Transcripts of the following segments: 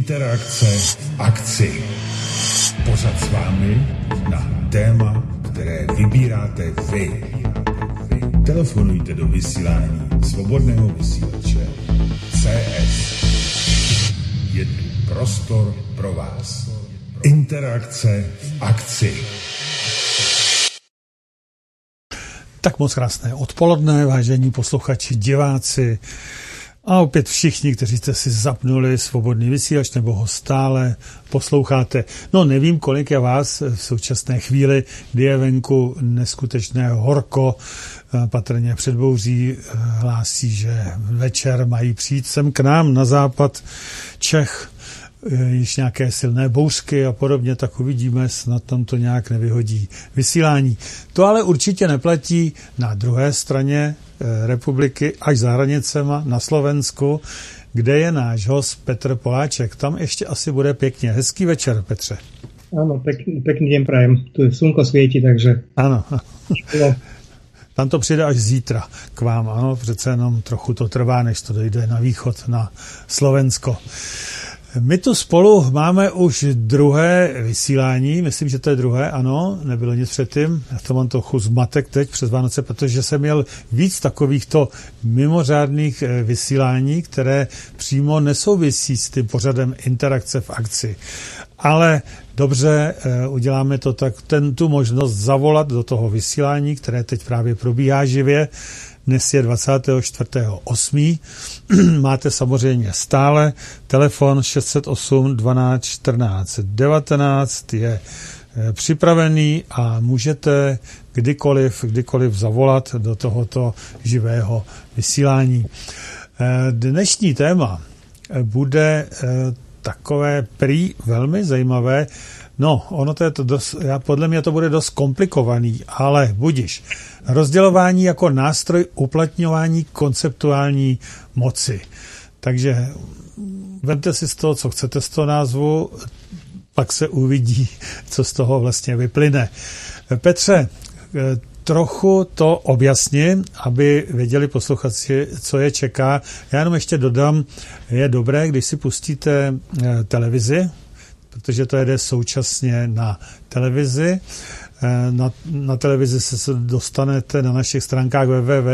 Interakce v akci. Pořad s vámi na téma, které vybíráte vy. Telefonujte do vysílání Svobodného vysílače CS. Je tu prostor pro vás. Interakce v akci. Tak moc krásné odpoledne, vážení posluchači, diváci a opět všichni, kteří jste si zapnuli Svobodný vysílač nebo ho stále posloucháte. No nevím, kolik je vás v současné chvíli, kdy je venku neskutečné horko, patrně předbouří hlásí, že večer mají přijít sem k nám na západ Čech, již nějaké silné bouřky a podobně, tak uvidíme, snad tam to nějak nevyhodí vysílání. To ale určitě neplatí na druhé straně republiky, až za hranicema na Slovensku, kde je náš host Petr Poláček. Tam ještě asi bude pěkně. Hezký večer, Petře. Áno, pekný deň prajem. Tu slnko svieti, takže... Ano. Tam to přijde až zítra k vám, ano, přece jenom trochu to trvá, než to dojde na východ, na Slovensko. My tu spolu máme už druhé vysílání, myslím, že to je druhé, ano, nebylo nic předtím, já to mám trochu zmatek teď přes Vánoce, protože jsem měl víc takovýchto mimořádných vysílání, které přímo nesouvisí s tím pořadem Interakce v akci. Ale dobře, uděláme to tak, tu možnost zavolat do toho vysílání, které teď právě probíhá živě. Dnes je 24.8. Máte samozřejmě stále telefon 608 12 14 19 je připravený a můžete kdykoliv zavolat do tohoto živého vysílání. Dnešní téma bude takové prý velmi zajímavé. No, ono to je to dost, podle mě to bude dost komplikovaný, ale budiš. Rozdělování jako nástroj uplatňování konceptuální moci. Takže vemte si z toho, co chcete z toho názvu, pak se uvidí, co z toho vlastně vyplyne. Petře, trochu to objasním, aby věděli posluchači, co je čeká. Já jenom ještě dodám, je dobré, když si pustíte televizi, protože to jede současně na televizi. Na televizi se dostanete na našich stránkách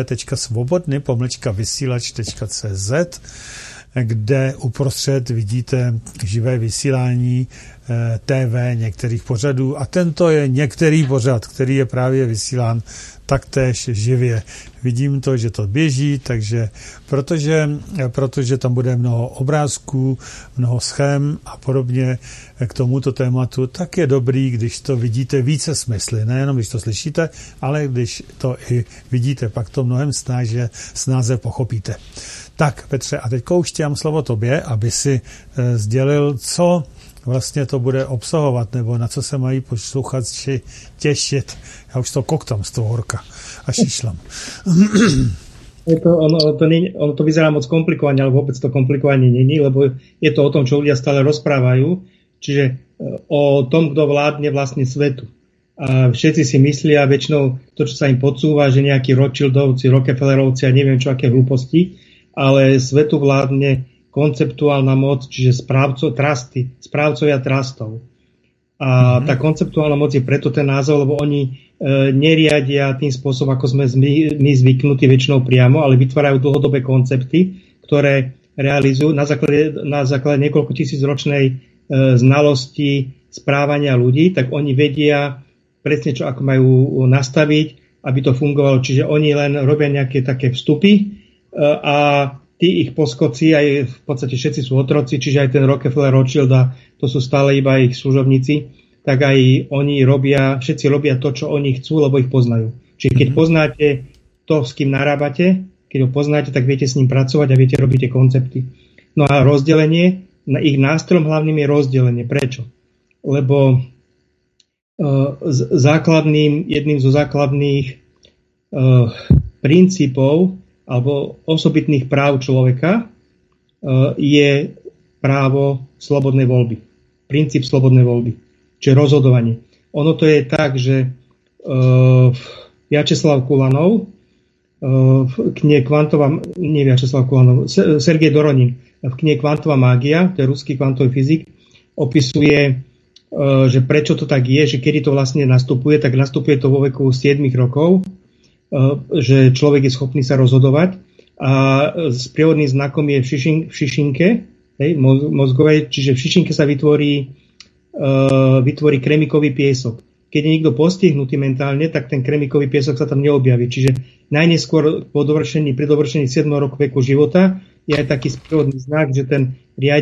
www.svobodny-vysílač.cz, kde uprostřed vidíte živé vysílání TV některých pořadů a tento je některý pořad, který je právě vysílán taktéž živě. Vidím to, že to běží, takže protože tam bude mnoho obrázků, mnoho schém a podobně k tomuto tématu, tak je dobrý, když to vidíte více smysly, nejenom když to slyšíte, ale když to i vidíte, pak to mnohem snáze pochopíte. Tak, Petře, a teď už dám slovo tobě, aby si sdělil, co vlastně to bude obsahovat, nebo na co se mají posluchači těšit. Já už to koktám z toho horka a šišlám. Ono to vyzerá moc komplikovane, ale vôbec to komplikovanie není, lebo je to o tom, čo ľudia stále rozprávajú, čiže o tom, kto vládne vlastne svetu. A všetci si myslia väčšinou to, čo sa im podsúva, že nejakí Rothschildovci, Rockefellerovci a neviem čo, aké hlúposti, ale svetu vládne konceptuálna moc, čiže správcovia trustov. A tá konceptuálna moc je preto ten názov, lebo oni neriadia tým spôsobom, ako sme my zvyknutí väčšinou priamo, ale vytvárajú dlhodobé koncepty, ktoré realizujú na základe niekoľko tisícročnej znalosti správania ľudí, tak oni vedia presne, čo ako majú nastaviť, aby to fungovalo. Čiže oni len robia nejaké také vstupy a tí ich poskoci, aj v podstate všetci sú otroci, čiže aj ten Rockefeller, Rothschild, to sú stále iba ich služobníci, tak aj oni všetci robia to, čo oni chcú, lebo ich poznajú. Čiže keď poznáte to, s kým narábate, keď ho poznáte, tak viete s ním pracovať a viete robiť tie koncepty. No a rozdelenie, ich nástrojom hlavným je rozdelenie. Prečo? Lebo jedným zo základných princípov alebo osobitných práv človeka je právo slobodnej voľby. Princíp slobodnej voľby. Čiže rozhodovanie. Ono to je tak, že Vjačeslav Kulanov, Sergej Doronin v knihe Kvantová mágia, to je ruský kvantový fyzik, opisuje, že prečo to tak je, že kedy to vlastne nastupuje, tak nastupuje to vo veku 7 rokov, že človek je schopný sa rozhodovať a sprievodným znakom je v šišinke mozgovej, čiže v šišinke sa vytvorí kremikový piesok. Keď je niekto postihnutý mentálne, tak ten kremikový piesok sa tam neobjaví. Čiže najneskôr pri dovršení 7 roku veku života je aj taký sprievodný znak, že ten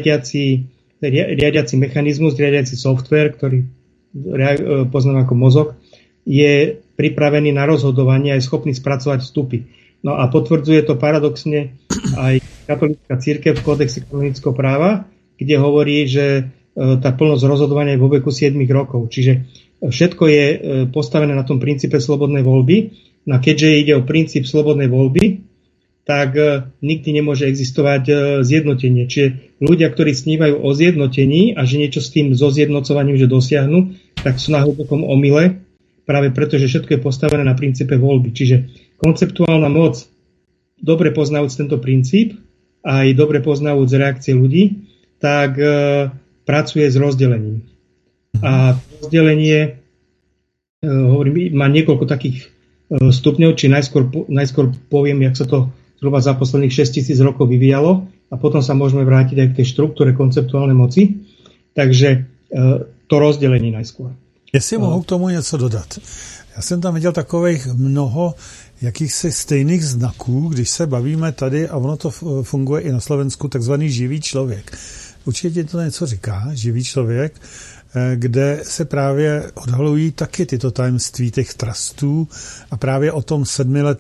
riadiaci mechanizmus, riadiaci software, ktorý poznáme ako mozog, je pripravený na rozhodovanie a je schopný spracovať vstupy. No a potvrdzuje to paradoxne aj katolícka cirkev v kódexe kanonického práva, kde hovorí, že tá plnosť rozhodovania je vo veku 7 rokov. Čiže všetko je postavené na tom princípe slobodnej voľby. No a keďže ide o princíp slobodnej voľby, tak nikdy nemôže existovať zjednotenie. Čiže ľudia, ktorí snívajú o zjednotení a že niečo s tým so zjednocovaním že dosiahnu, tak sú na hlbokom omyle, práve preto, že všetko je postavené na princípe voľby. Čiže konceptuálna moc, dobre poznajúc tento princíp a aj dobre poznajúc reakcie ľudí, tak pracuje s rozdelením. A rozdelenie, hovorím, má niekoľko takých stupňov, či najskôr poviem, jak sa to zhruba za posledných 6000 rokov vyvíjalo a potom sa môžeme vrátiť aj k tej štruktúre konceptuálnej moci. Takže to rozdělení najskôr. Jestli mohu k tomu něco dodat. Já jsem tam viděl takových mnoho jakýchsi stejných znaků, když se bavíme tady, a ono to funguje i na Slovensku, takzvaný živý člověk. Určitě to něco říká, živý člověk, kde se právě odhalují taky tyto tajemství těch trustů a právě o tom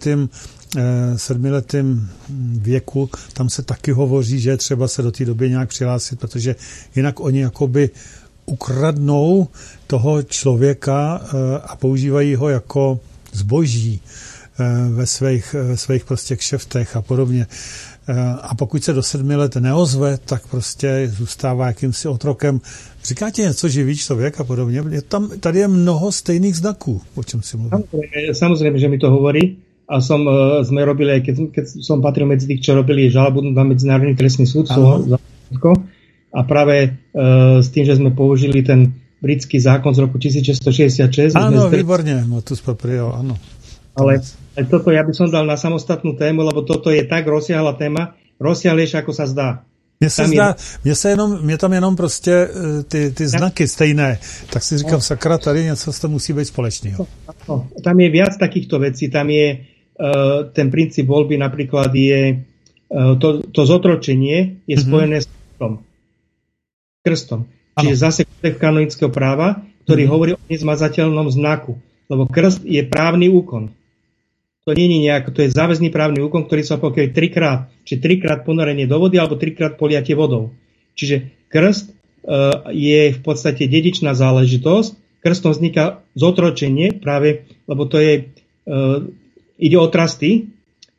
sedmiletém věku, tam se taky hovoří, že třeba se do té doby nějak přihlásit, protože jinak oni jakoby ukradnou toho člověka a používají ho jako zboží ve svých prostě kšeftech a podobně. A pokud se do 7 let neozve, tak prostě zůstává jakýmsi otrokem. Říkáte něco živý člověk a podobně? Tady je mnoho stejných znaků, o čem si mluvím. Samozrejme, že mi to hovorí. A sme robili, keď som patril medzi tých, čo robili žalobu na Medzinárodný trestný súd, a práve s tým, že sme použili ten britský zákon z roku 1666. Áno, výborne, motus proprio, áno. Ale toto ja by som dal na samostatnú tému, lebo toto je tak rozsiahla téma, rozsiahlejšia, ako sa zdá. Mně tam jenom prostě ty znaky stejné, tak si říkám, sakra, tady něco to musí být společného. No, tam je viac takýchto vecí, tam je ten princíp voľby, napríklad je to zotročenie je spojené s krstom. Čiže zase kódex kanonického práva, ktorý hovorí o nezmazateľnom znaku, lebo krst je právny úkon. To nie je nejak, to je záväzný právny úkon, ktorý sa opakuje 3-krát, či 3-krát ponorenie do vody, alebo 3-krát poliatie vodou. Čiže krst je v podstate dedičná záležitosť. Krstom vzniká zotročenie práve, lebo to je, ide o trusty,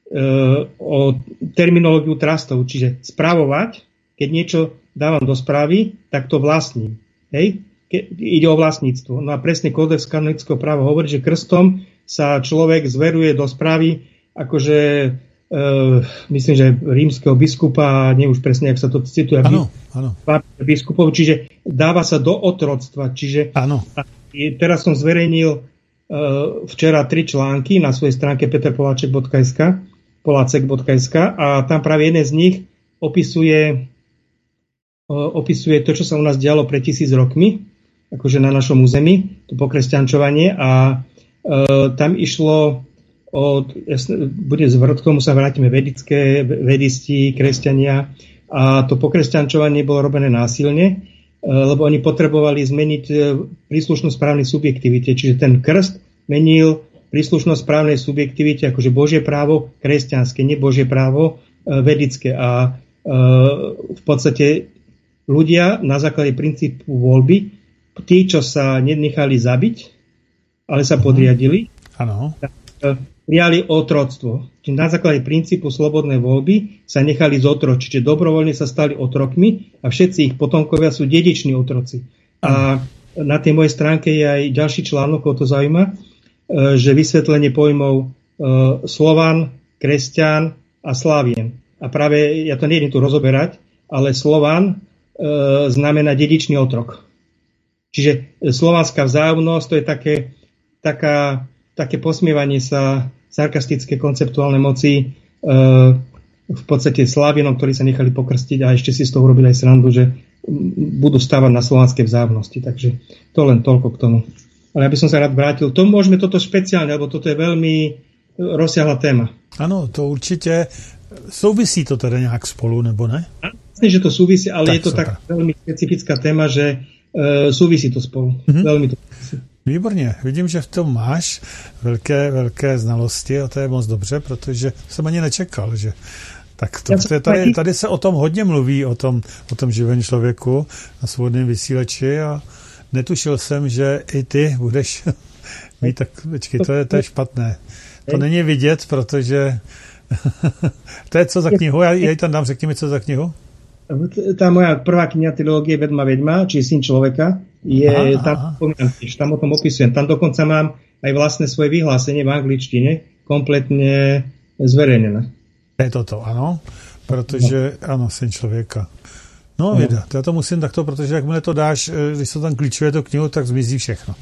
o terminológiu trustov, čiže spravovať, keď niečo dávam do správy, tak to vlastním. Hej? Ide o vlastníctvo. No a presne kódex kanonického práva hovorí, že krstom sa človek zveruje do správy, akože myslím, že rímskeho biskupa, nie už presne, jak sa to cituje, biskupov, čiže dáva sa do otroctva. Čiže teraz som zverejnil včera 3 články na svojej stránke peterpoláček.sk a tam práve jeden z nich opisuje to, čo sa u nás dialo pred 1000 rokmi, akože na našom území, to pokresťančovanie, a tam išlo bude k tomu sa vrátime vedisti, kresťania, a to pokresťančovanie bolo robené násilne, lebo oni potrebovali zmeniť príslušnosť právnej subjektivite, čiže ten krst menil príslušnosť právnej subjektivite, akože Božie právo kresťanské, nie Božie právo vedické. A v podstate ľudia na základe princípu voľby, tí, čo sa nenechali zabiť, ale sa podriadili, prijali otroctvo. Čiže na základe princípu slobodnej voľby sa nechali zotročiť, čiže dobrovoľne sa stali otrokmi a všetci ich potomkovia sú dediční otroci. A na tej mojej stránke je aj ďalší článok, o to zaujíma, že vysvetlenie pojmov Slovan, kresťan a Slávien. A práve ja to nejdem tu rozoberať, ale Slovan znamená dedičný otrok. Čiže slovanská vzájomnosť, to je také posmievanie sa sarkastické konceptuálne moci v podstate Slávinom, ktorí sa nechali pokrstiť a ešte si z toho urobili aj srandu, že budú stávať na slovanskej vzájomnosti. Takže to len toľko k tomu. Ale ja by som sa rád vrátil. To môžeme toto špeciálne, lebo toto je veľmi rozsiahla téma. Ano, to určite souvisí to teda nějak spolu, nebo ne? Myslím, že to súvisí, ale tak je to super. Tak veľmi specifická téma, že súvisí to spolu. Veľmi to súvisí. Výborně, vidím, že v tom máš velké znalosti a to je moc dobře, protože jsem ani nečekal, že tak to, tady se o tom hodně mluví, o tom živém člověku na svobodném vysílači a netušil jsem, že i ty budeš mít tak, počkej, to je špatné. To není vidět, protože to je co za knihu? Já ji tam dám, řekni mi, co za knihu? Tá moja prvá kniha teológie Vedma, či Syn človeka, je tam o tom opisujem. Tam dokonca mám aj vlastné svoje vyhlásenie v angličtine, kompletne zverejnené. Je to, ano, protože, ano, Syn člověka. No, věda, já to musím takto, protože jakmile to dáš, když se tam klíčuje tu knihu, tak zmizí všechno.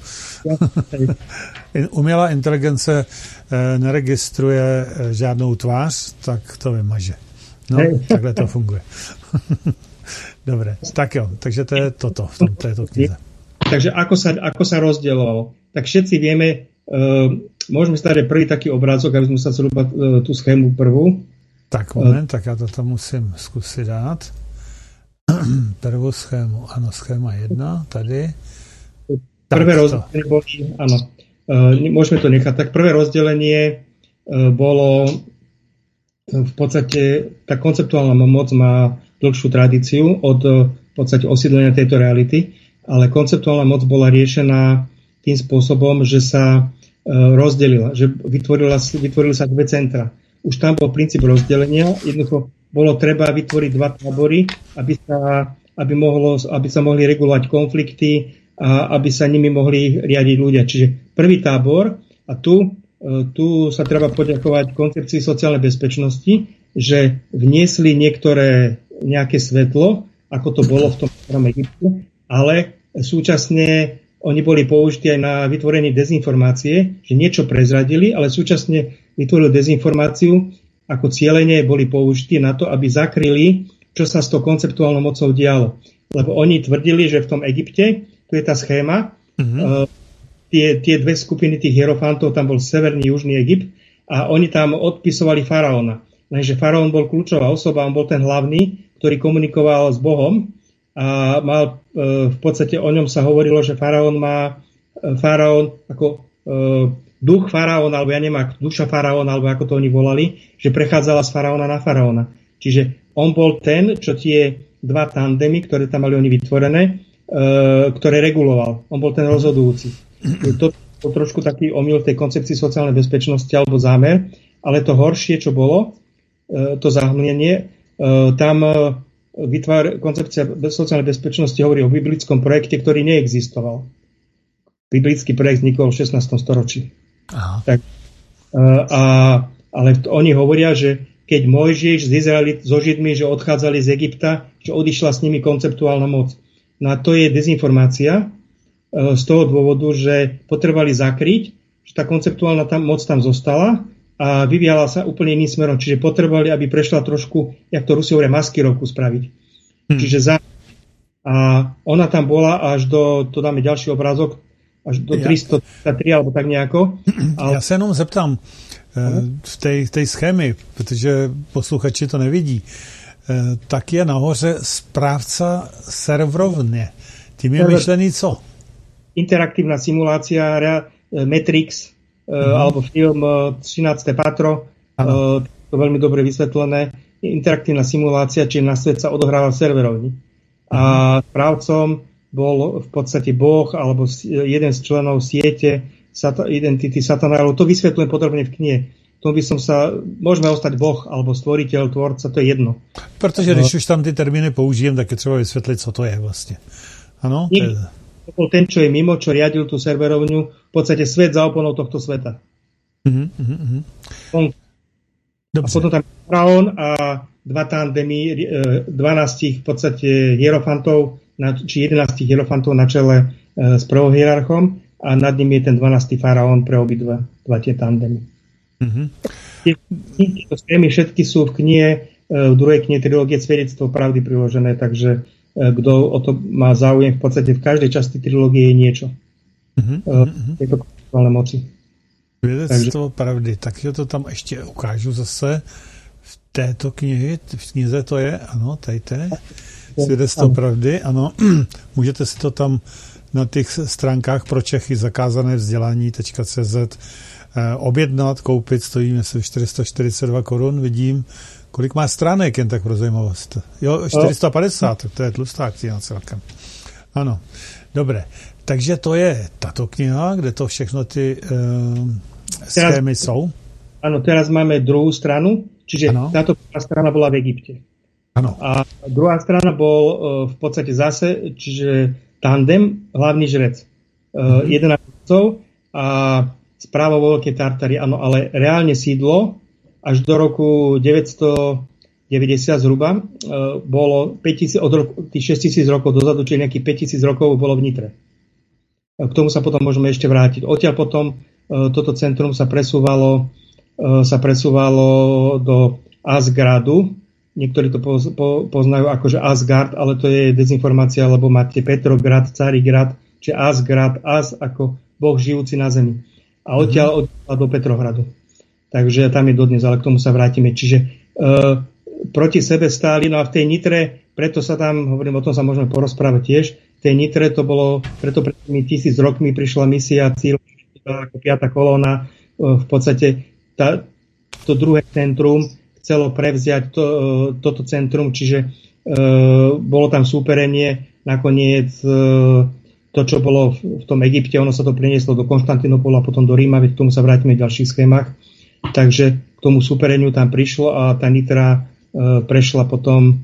Umělá inteligence neregistruje žádnou tvář, tak to vymaže. No, takhle to funguje. Dobre, tak jo, takže to je toto v této knize. Takže ako sa rozdielovalo? Tak všetci vieme, môžeme si dať prvý taký obrázok, aby sme sa zhruba tú schému prvú. Tak moment, tak já to tam musím zkusit dát. Prvú schému, ano, schéma 1, tady. Prvé rozdelenie boli, áno, môžeme to nechať. Tak prvé rozdelenie bolo v podstate, tá konceptuálna moc má dlhšiu tradíciu od v podstate osídlenia tejto reality, ale konceptuálna moc bola riešená tým spôsobom, že sa rozdelila, že vytvorili sa dve centra. Už tam bol princíp rozdelenia, jednoducho bolo treba vytvoriť dva tábory, aby sa mohli regulovať konflikty a aby sa nimi mohli riadiť ľudia. Čiže prvý tábor, a tu sa treba poďakovať koncepcii sociálnej bezpečnosti, že vniesli nejaké svetlo, ako to bolo v tom starom Egypte, ale súčasne oni boli použití aj na vytvorenie dezinformácie, že niečo prezradili, ale súčasne vytvorili dezinformáciu, ako cielenie boli použití na to, aby zakryli, čo sa s tou konceptuálnou mocou dialo. Lebo oni tvrdili, že v tom Egypte, tu je tá schéma, tie dve skupiny tých hierofantov, tam bol severný, južný Egypt a oni tam odpisovali faraóna. Lenže faraón bol kľúčová osoba, on bol ten hlavný, ktorý komunikoval s Bohom a mal, v podstate o ňom sa hovorilo, že faraón ako duch faraóna, alebo ja neviem, duša faraóna, alebo ako to oni volali, že prechádzala z faraóna na faraóna. Čiže on bol ten, čo tie dva tandemy, ktoré tam mali oni vytvorené, ktoré reguloval. On bol ten rozhodujúci. To trošku taký omyl tej koncepcii sociálnej bezpečnosti alebo zámer, ale to horšie, čo bolo, to zahmlenie, tam koncepcia sociálnej bezpečnosti hovorí o biblickom projekte, ktorý neexistoval. Biblický projekt vznikol v 16. storočí. Tak, ale oni hovoria, že keď Mojžiš so Židmi, že odchádzali z Egypta, že odišla s nimi konceptuálna moc. No a to je dezinformácia, z toho dôvodu, že potrebovali zakryť, že tá konceptuálna moc tam zostala a vyvíjala sa úplne iným smerom. Čiže potrebovali, aby prešla trošku, jak to Rusi hovoria, maskirovku spraviť. Čiže a ona tam bola až to dáme ďalší obrázok, až do 303 alebo tak nejako. Já se jenom zeptám, v tej schémy, protože posluchači to nevidí, tak je nahoře správca serverovne. Tím je myšlený co? Interaktívna simulácia, Matrix, alebo film 13. patro, to veľmi dobre vysvetlené. Interaktívna simulácia, čiže na svet sa odohráva v serverovni. A správcom bol v podstate Boh, alebo jeden z členov siete identity satanárov. To vysvetľujem podrobne v knihe. To by som môžeme ostať Boh, alebo stvoriteľ, tvorca, to je jedno. Protože když už tam ty termíny použijem, tak je třeba vysvetliť, co to je vlastne. Ano? To bol ten, čo je mimo, čo riadil tú serverovňu, v podstate svet za oponou tohto sveta. A potom tam faraón a dva tandemy, 12 v podstate hierofantov, či 11 hierofantov na čele s prvohierarchom a nad ním je ten 12. faraón pre obidva tie tandemy. Tieto schémy všetky sú v knihe, v druhej knihe trilógie Svedectvo pravdy priložené, takže kto o to má záujem, v podstate v každej časti trilógie je niečo. Je to konceptuálne moci. Svědectvo pravdy, takže to tam ještě ukážu zase v této knize to je, ano, tady. Svědectvo pravdy, ano. Můžete si to tam na těch stránkách pro Čechy zakázané vzdělání.cz objednat, koupit, stojí myslím 442 korun, vidím. Kolik má stránek, jen tak pro zajímavost? Jo, 450, to je tlustá kniha celkem. Ano, dobré. Takže to je tato kniha, kde to všechno ty schémy jsou. Áno, teraz máme druhú stranu, čiže táto strana bola v Egypte. Ano. A druhá strana bol v podstate zase, čiže tandem, hlavný žrec. 11 otcov a správa vo Veľkej Tartárii, áno, ale reálne sídlo až do roku 990 zhruba bolo 5000, od roku, tých 6000 rokov dozadu, čiže nejakých 5000 rokov bolo v Nitre. K tomu sa potom môžeme ešte vrátiť. Odtiaľ potom toto centrum sa presúvalo do Asgardu. Niektorí to poznajú akože Asgard, ale to je dezinformácia, lebo máte Petrograd, Carigrad, čiže Asgard, ako Boh žijúci na zemi. A odtiaľ do Petrohradu. Takže tam je dodnes, ale k tomu sa vrátime. Čiže proti sebe stáli, no a v tej Nitre, preto sa tam, hovorím, o tom sa môžeme porozprávať tiež, v tej Nitre to bolo, preto pred tými 1000 rokmi prišla misia cíl ako 5. kolóna, v podstate to druhé centrum chcelo prevziať toto centrum, čiže bolo tam súperenie, nakoniec to, čo bolo v tom Egypte, ono sa to prenieslo do Konštantinopolu a potom do Ríma, veď k tomu sa vrátime v ďalších schémach. Takže k tomu súpereniu tam prišlo a tá Nitra prešla potom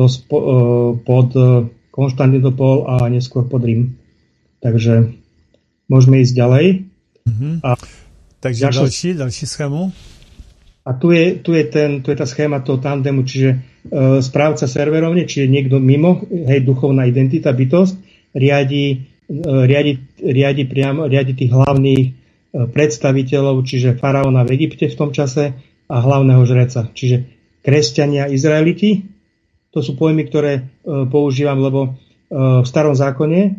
pod Konštantinopol a neskôr pod Rím. Takže môžeme ísť ďalej. A takže ďalší schému. A tu je tá schéma toho tandemu, čiže správca serverovne, čiže niekto mimo, hej, duchovná identita, bytosť, riadi tých hlavných predstaviteľov, čiže faraóna v Egypte v tom čase a hlavného žreca. Čiže kresťania, Izraeliti, to sú pojmy, ktoré používam, lebo v Starom zákone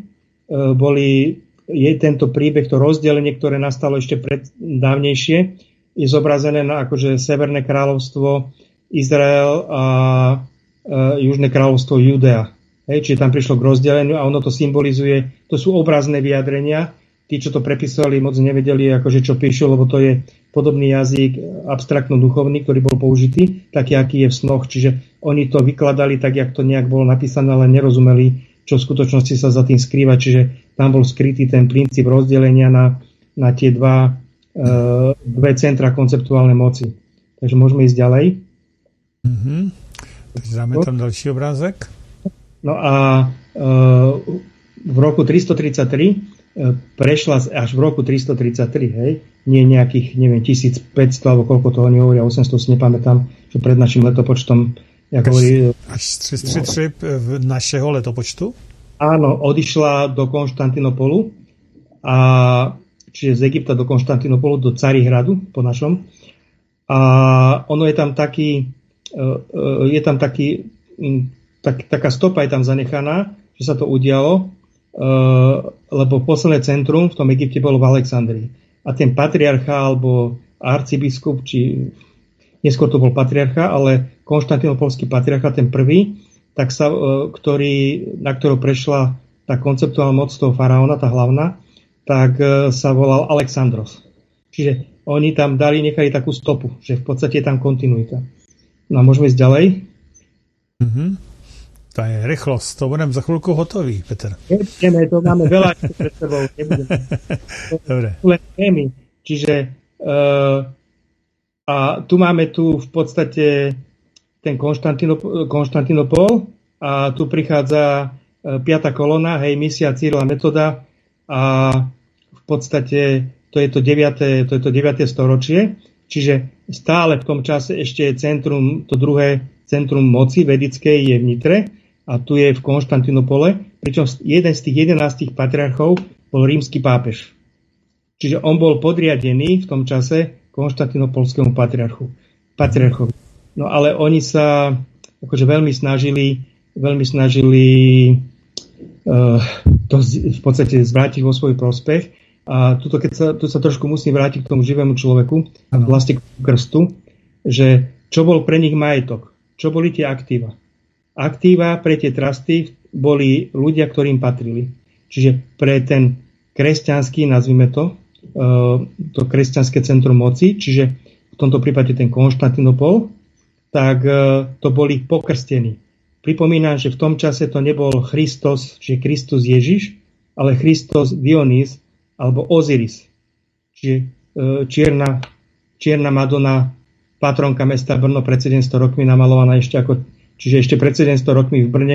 je tento príbeh, to rozdelenie, ktoré nastalo ešte dávnejšie, je zobrazené na akože Severné kráľovstvo Izrael a Južné kráľovstvo Judea. Čiže tam prišlo k rozdeleniu a ono to symbolizuje, to sú obrazné vyjadrenia. Tí, čo to prepisovali, moc nevedeli, akože čo píšu, lebo to je podobný jazyk abstraktno-duchovný, ktorý bol použitý, taký, aký je v snoch. Čiže oni to vykladali tak, jak to nejak bolo napísané, ale nerozumeli, čo v skutočnosti sa za tým skrýva. Čiže tam bol skrytý ten princíp rozdelenia na tie dve centra konceptuálnej moci. Takže môžeme ísť ďalej. Takže dáme tam ďalší obrázek. No a v roku 333 prešla až v roku 333, hej, nie nejakých, neviem, 1500 alebo koľko toho nehovoria, 800 si nepamätám, čo pred našim letopočtom až 333 našeho letopočtu? Áno, odišla do Konštantinopolu a čiže z Egypta do Konštantinopolu, do Carihradu po našom. A ono je tam taká stopa je tam zanechaná, že sa to udialo, lebo posledné centrum v tom Egypte bolo v Alexandrii. A ten patriarcha alebo arcibiskup, či neskôr to bol patriarcha, ale konštantinopolský patriarcha, ten prvý, tak na ktorého prešla tá konceptuálna moc toho faraóna, tá hlavná, tak sa volal Alexandros. Čiže oni tam nechali takú stopu, že v podstate je tam kontinuita. No a môžeme ísť ďalej. To je rýchlosť, to budem za chvíľku hotový, Peter. Nebudeme, to máme veľa pred sebou. Dobre. Čiže a tu máme v podstate ten Konštantinopol a tu prichádza 5. kolóna, hej, misia Cyrila Metoda a v podstate to je to 9. storočie, čiže stále v tom čase ešte je centrum, to druhé centrum moci vedickej je v Nitre a tu je v Konštantinopole, pričom jeden z tých 11 patriarchov bol rímsky pápež. Čiže on bol podriadený v tom čase konštantinopolskému patriarchovi. No ale oni sa akože veľmi snažili to v podstate zvrátiť vo svoj prospech. A tu sa trošku musím vrátiť k tomu živému človeku, vlastne k krstu, že čo bol pre nich majetok, čo boli tie aktíva. Aktíva pre tie trusty boli ľudia, ktorým patrili. Čiže pre ten kresťanský, nazvime to kresťanské centrum moci, čiže v tomto prípade ten Konštantinopol, tak to boli pokrstení. Pripomínam, že v tom čase to nebol Christos, čiže Kristus Ježiš, ale Christos Dionys alebo Osiris. Čiže čierna Madonna, patronka mesta Brno pred 700 rokmi namalovaná čiže ešte pred 700 rokmi v Brne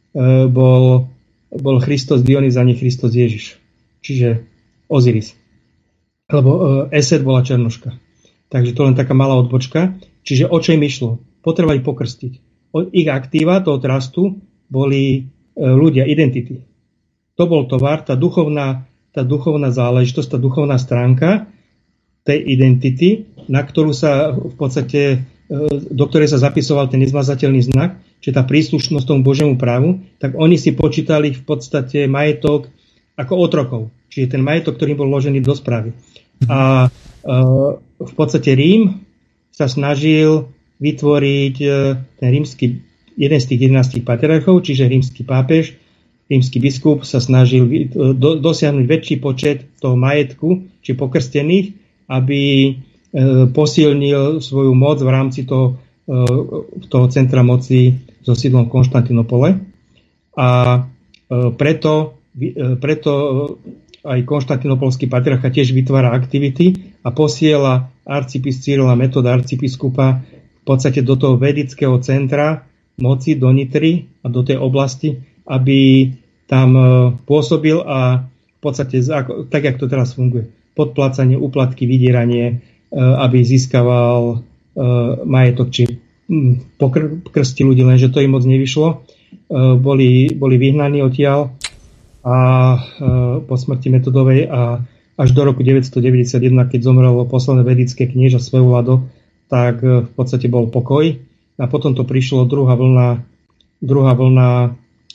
bol Christos Dionys a nie Christos Ježiš. Čiže Osiris. Lebo Eset bola Černoška. Takže to len taká malá odbočka. Čiže o čo im išlo? Potrebovali pokrstiť. Ich aktíva toho trustu boli ľudia, identity. To bol tovar, tá duchovná záležitosť, tá duchovná stránka tej identity, na ktorú sa v podstate, do ktorej sa zapisoval ten nezmazateľný znak, čiže tá príslušnosť tomu Božiemu právu, tak oni si počítali v podstate majetok ako otrokov. Čiže ten majetok, ktorý bol vložený do správy. A v podstate Rím sa snažil vytvoriť ten jeden z tých 11 patriarchov, čiže rímsky pápež, rímsky biskup sa snažil dosiahnuť väčší počet toho majetku, či pokrstených, aby posilnil svoju moc v rámci toho centra moci so sídlom v Konštantinopole. A preto aj konštantinopolský patriarcha tiež vytvára aktivity a posiela arcibiskupa Cyrila Metoda, arcibiskupa v podstate do toho vedického centra moci, do Nitry a do tej oblasti, aby tam pôsobil a v podstate, tak jak to teraz funguje, podplácanie, úplatky, vydieranie, aby získaval majetok, či pokrsti ľudí, lenže to im moc nevyšlo. Boli vyhnaní odtiaľ a po smrti Metodovej a až do roku 991, keď zomrelo posledné vedické knieža Svevlado, tak v podstate bol pokoj. A potom to prišlo druhá vlna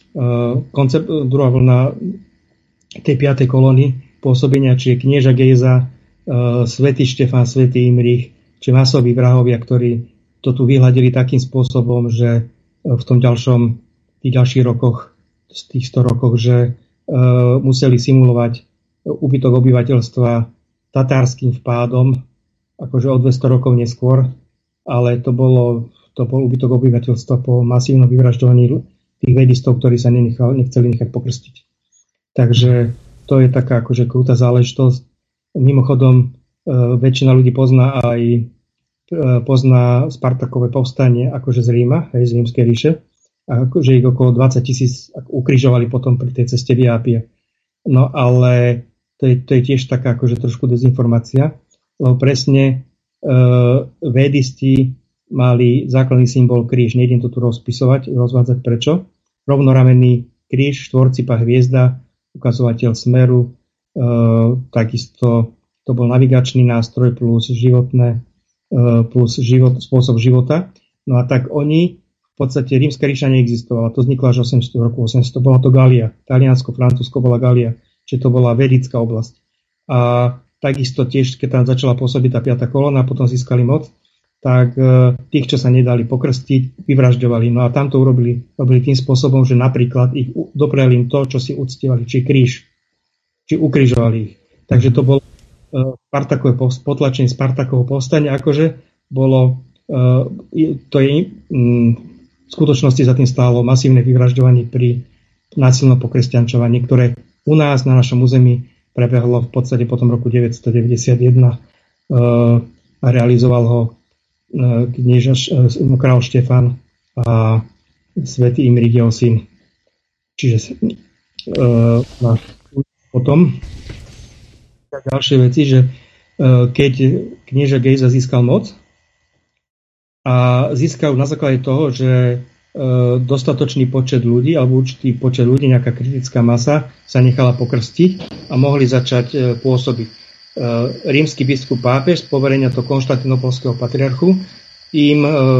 tej 5. kolóny pôsobenia, čiže knieža Gejza, svätý Štefán, svätý Imrich, či masoví vrahovia, ktorí to tu vyhľadili takým spôsobom, že v tých ďalších rokoch, z tých 100 rokoch, že museli simulovať úbytok obyvateľstva tatárskym vpádom, akože o 200 rokov neskôr, ale to bol úbytok obyvateľstva po masívnom vyvražďovaní tých vedistov, ktorí sa nechceli nechať pokrstiť. Takže to je taká akože krutá záležitosť. Mimochodom, väčšina ľudí pozná Spartakové povstanie akože z Ríma, z Rímskej ríše, a akože ich okolo 20 000 ukrižovali potom pri tej ceste Via Appia. No ale to je tiež taká akože trošku dezinformácia, lebo presne védisti mali základný symbol kríž. Nejdem to tu rozvádzať prečo. Rovnoramenný kríž, štvorcipá hviezda, ukazovateľ smeru, takisto to bol navigačný nástroj plus spôsob života. No a tak oni, v podstate rímska ríša neexistovala. To vzniklo až roku 800. Bola to Galia. Taliansko, Francúzsko bola Galia. Čiže to bola vedická oblasť. A takisto tiež, keď tam začala pôsobiť tá 5. kolóna, potom získali moc, tak tých, čo sa nedali pokrstiť, vyvražďovali. No a tam to robili tým spôsobom, že napríklad ich dopreli im to, čo si uctievali, či kríž, či ukrižovali ich. Takže to bolo Spartakové potlačenie Spartakovho povstania, akože bolo, to je v skutočnosti za tým stálo masívne vyvražďovanie pri násilnom pokresťančovaní, ktoré u nás na našom území prebehlo v podstate potom roku 991 a realizoval ho kráľ Štefan a svätý Imrich jeho syn. Čiže potom ďalšie veci, že keď knieža Gejza získal moc, a získajú na základe toho, že dostatočný počet ľudí alebo určitý počet ľudí, nejaká kritická masa sa nechala pokrstiť a mohli začať pôsobiť. Rímsky biskup pápež z poverenia to konštantinopolského patriarchu im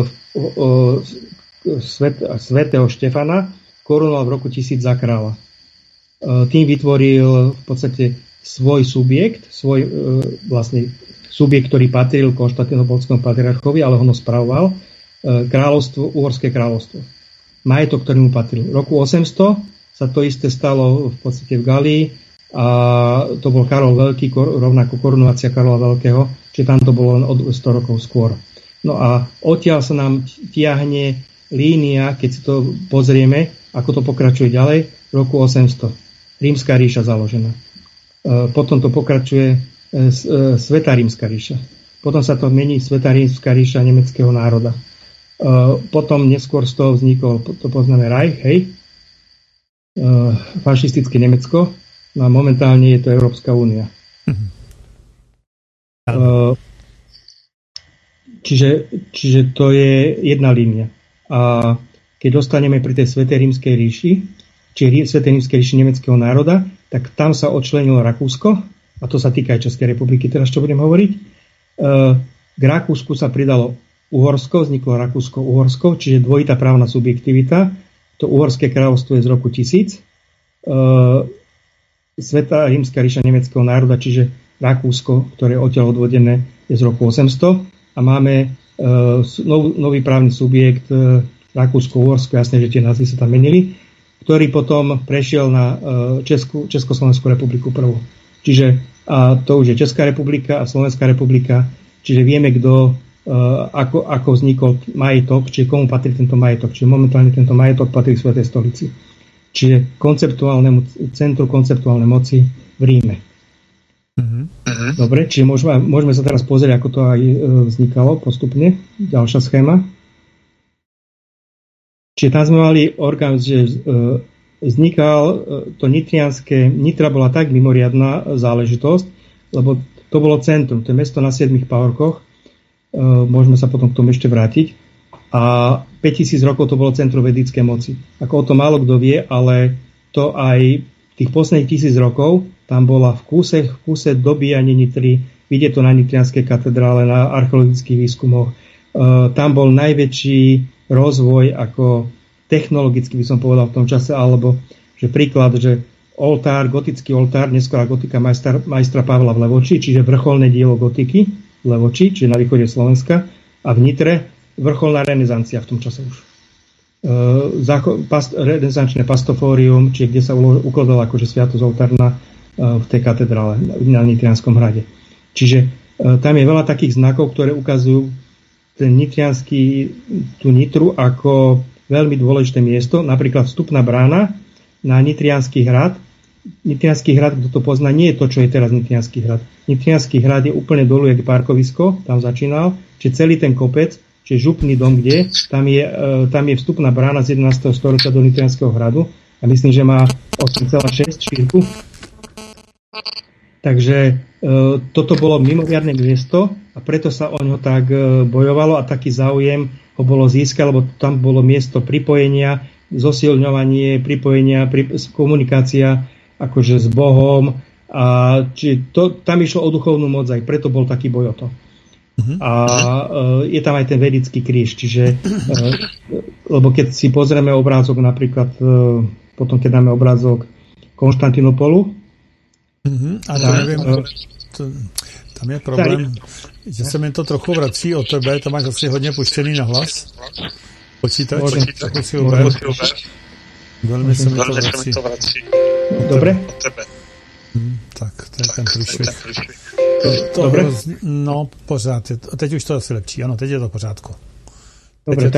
svätého Štefana korunoval v roku 1000 za kráľa. Tým vytvoril v podstate svoj subjekt, vlastne subjekt, ktorý patril konštantinopolskému patriarchovi, ale ho spravoval, kráľovstvo, Uhorské kráľovstvo. Majetok, ktorý mu patril. V roku 800 sa to isté stalo v podstate v Galii a to bol Karol Veľký, rovnako korunovácia Karola Veľkého, čiže tam to bolo len o 100 rokov skôr. No a odtiaľ sa nám tiahne línia, keď si to pozrieme, ako to pokračuje ďalej, v roku 800. Rímska ríša založená. Potom to pokračuje Svätá rímska ríša. Potom sa to mení Svätá rímska ríša nemeckého národa. Potom neskôr z toho vznikol, to poznáme Reich, hej, fašistické Nemecko, no a momentálne je to Európska únia. Čiže to je jedna línia. A keď dostaneme pri tej Svätej rímskej ríši, či Svätej rímskej ríši nemeckého národa, tak tam sa odčlenilo Rakúsko, a to sa týka aj Českej republiky, teraz čo budem hovoriť. K Rakúsku sa pridalo Uhorsko, vzniklo Rakúsko-Uhorsko, čiže dvojitá právna subjektivita. To Uhorské kráľovstvo je z roku 1000. Svätá rímska ríša nemeckého národa, čiže Rakúsko, ktoré je odtiaľ odvodené, je z roku 800. A máme nový právny subjekt Rakúsko-Uhorsko, jasné, že tie názvy sa tam menili, ktorý potom prešiel na Československú republiku prvú. Čiže a to už je Česká republika a Slovenská republika, čiže vieme, kto ako vznikol majetok, čiže komu patrí tento majetok. Čiže momentálne tento majetok patrí Svätej stolici. Čiže konceptuálnemu centru konceptuálnej moci v Ríme. Dobre, čiže môžeme sa teraz pozrieť, ako to aj vznikalo postupne. Ďalšia schéma. Čiže tam sme mali orgán, že vznikal to Nitra bola tak mimoriadna záležitosť, lebo to bolo centrum, to je mesto na 7 pahorkoch. Môžeme sa potom k tomu ešte vrátiť. A 5000 rokov to bolo centrum vedickej moci. Ako o to málo kto vie, ale to aj tých posledných 1000 rokov tam bola v kúse dobíjanie Nitry, vidieť to na Nitrianskej katedrále, na archeologických výskumoch. Tam bol najväčší rozvoj ako technologicky by som povedal v tom čase, alebo že príklad, že gotický oltár, neskôr gotika majstra Pavla v Levoči, čiže vrcholné dielo gotiky v Levoči, čiže na východe Slovenska, a v Nitre vrcholná renesancia v tom čase už. Renesančné pastofórium, čiže kde sa ukladala akože sviatosť oltárna v tej katedrále na Nitrianskom hrade. Čiže tam je veľa takých znakov, ktoré ukazujú ten tú Nitru ako veľmi dôležité miesto, napríklad vstupná brána na Nitriansky hrad. Nitriansky hrad, kto to pozná, nie je to, čo je teraz Nitriansky hrad. Nitriansky hrad je úplne dolu, jak parkovisko, tam začínal, čiže celý ten kopec, čiže župný dom, kde, tam je vstupná brána z 11. storočia do Nitrianskeho hradu a myslím, že má 8,6 šírku. Takže toto bolo mimoriadne miesto a preto sa o ňo tak bojovalo a taký záujem ho bolo získať, lebo tam bolo miesto pripojenia, zosilňovanie, pripojenia, komunikácia akože s Bohom a tam išlo o duchovnú moc, aj preto bol taký boj o to. A je tam aj ten vedický kríž, čiže lebo keď si pozrieme obrázok napríklad potom keď dáme obrázok Konštantinopolu, ale neviem, tam je problém, že se mi to trochu vrací od tebe, to máš asi hodně puštěný na hlas. Počítač, trochu si uber. Velmi se mi to vrací. Dobre? Tak, to je ten průšvih. Dobre? No, pořád. Teď už to asi lepší, ano, teď je to v pořádku. Dobre,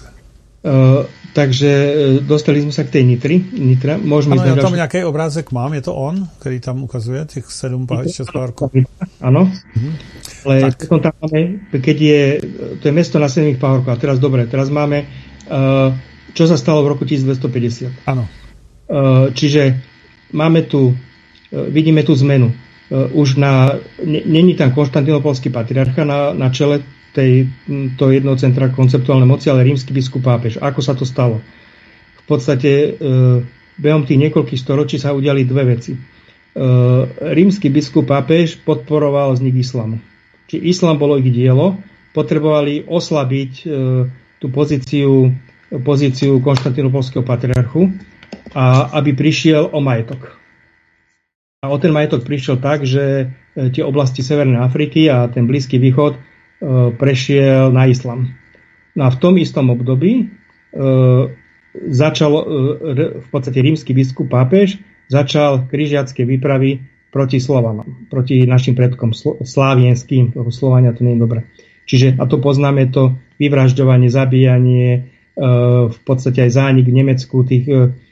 takže dostali sme sa k tej Nitra. Môžeme ano, já tam nějaký obrázek mám, je to on, který tam ukazuje těch 6 pahorků. Áno, ale potom tam máme, keď to je mesto na 7 pahorkoch. A teraz máme, čo sa stalo v roku 1250. Áno. Čiže máme tu, vidíme tú zmenu. Už není tam konštantinopolský patriarcha na čele to jedného centra konceptuálnej moci, ale rímsky biskup pápež. Ako sa to stalo? V podstate behom tých niekoľkých storočí sa udiali dve veci. Rímsky biskup pápež podporoval vznik islamu. Čiže islám bolo ich dielo, potrebovali oslabiť tú pozíciu konštantinopolského patriarchu, a aby prišiel o majetok. A o ten majetok prišiel tak, že tie oblasti Severnej Afriky a ten Blízky východ prešiel na islam. No a v tom istom období začal v podstate rímsky biskup pápež začal križiacké výpravy proti Slovanom, proti našim predkom slávienským, lebo Slovania to nie je dobré. Čiže, a to poznáme, to vyvražďovanie, zabíjanie, v podstate aj zánik v Nemecku tých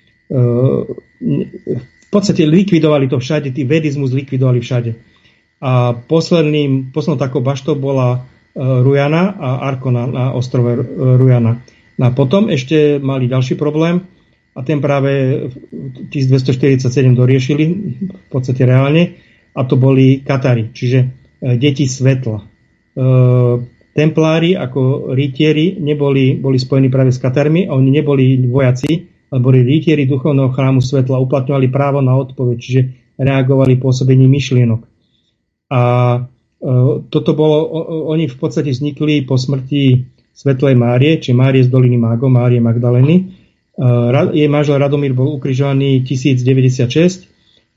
v podstate likvidovali to všade, tý vedizmus likvidovali všade. A poslednou takou baštou bola Rujana a Arkona na ostrove Rujana. No a potom ešte mali ďalší problém a ten práve 1247 doriešili v podstate reálne, a to boli Katari, čiže deti svetla. Templári ako rytieri boli spojení práve s Katarmi a oni neboli vojaci, ale boli rytieri duchovného chrámu svetla, uplatňovali právo na odpoveď, čiže reagovali pôsobením myšlienok. A toto bolo, oni v podstate vznikli po smrti Svetlej Márie, či Márie z doliny Mágov, Márie Magdalény. Jej manžel Radomír bol ukrižovaný 1096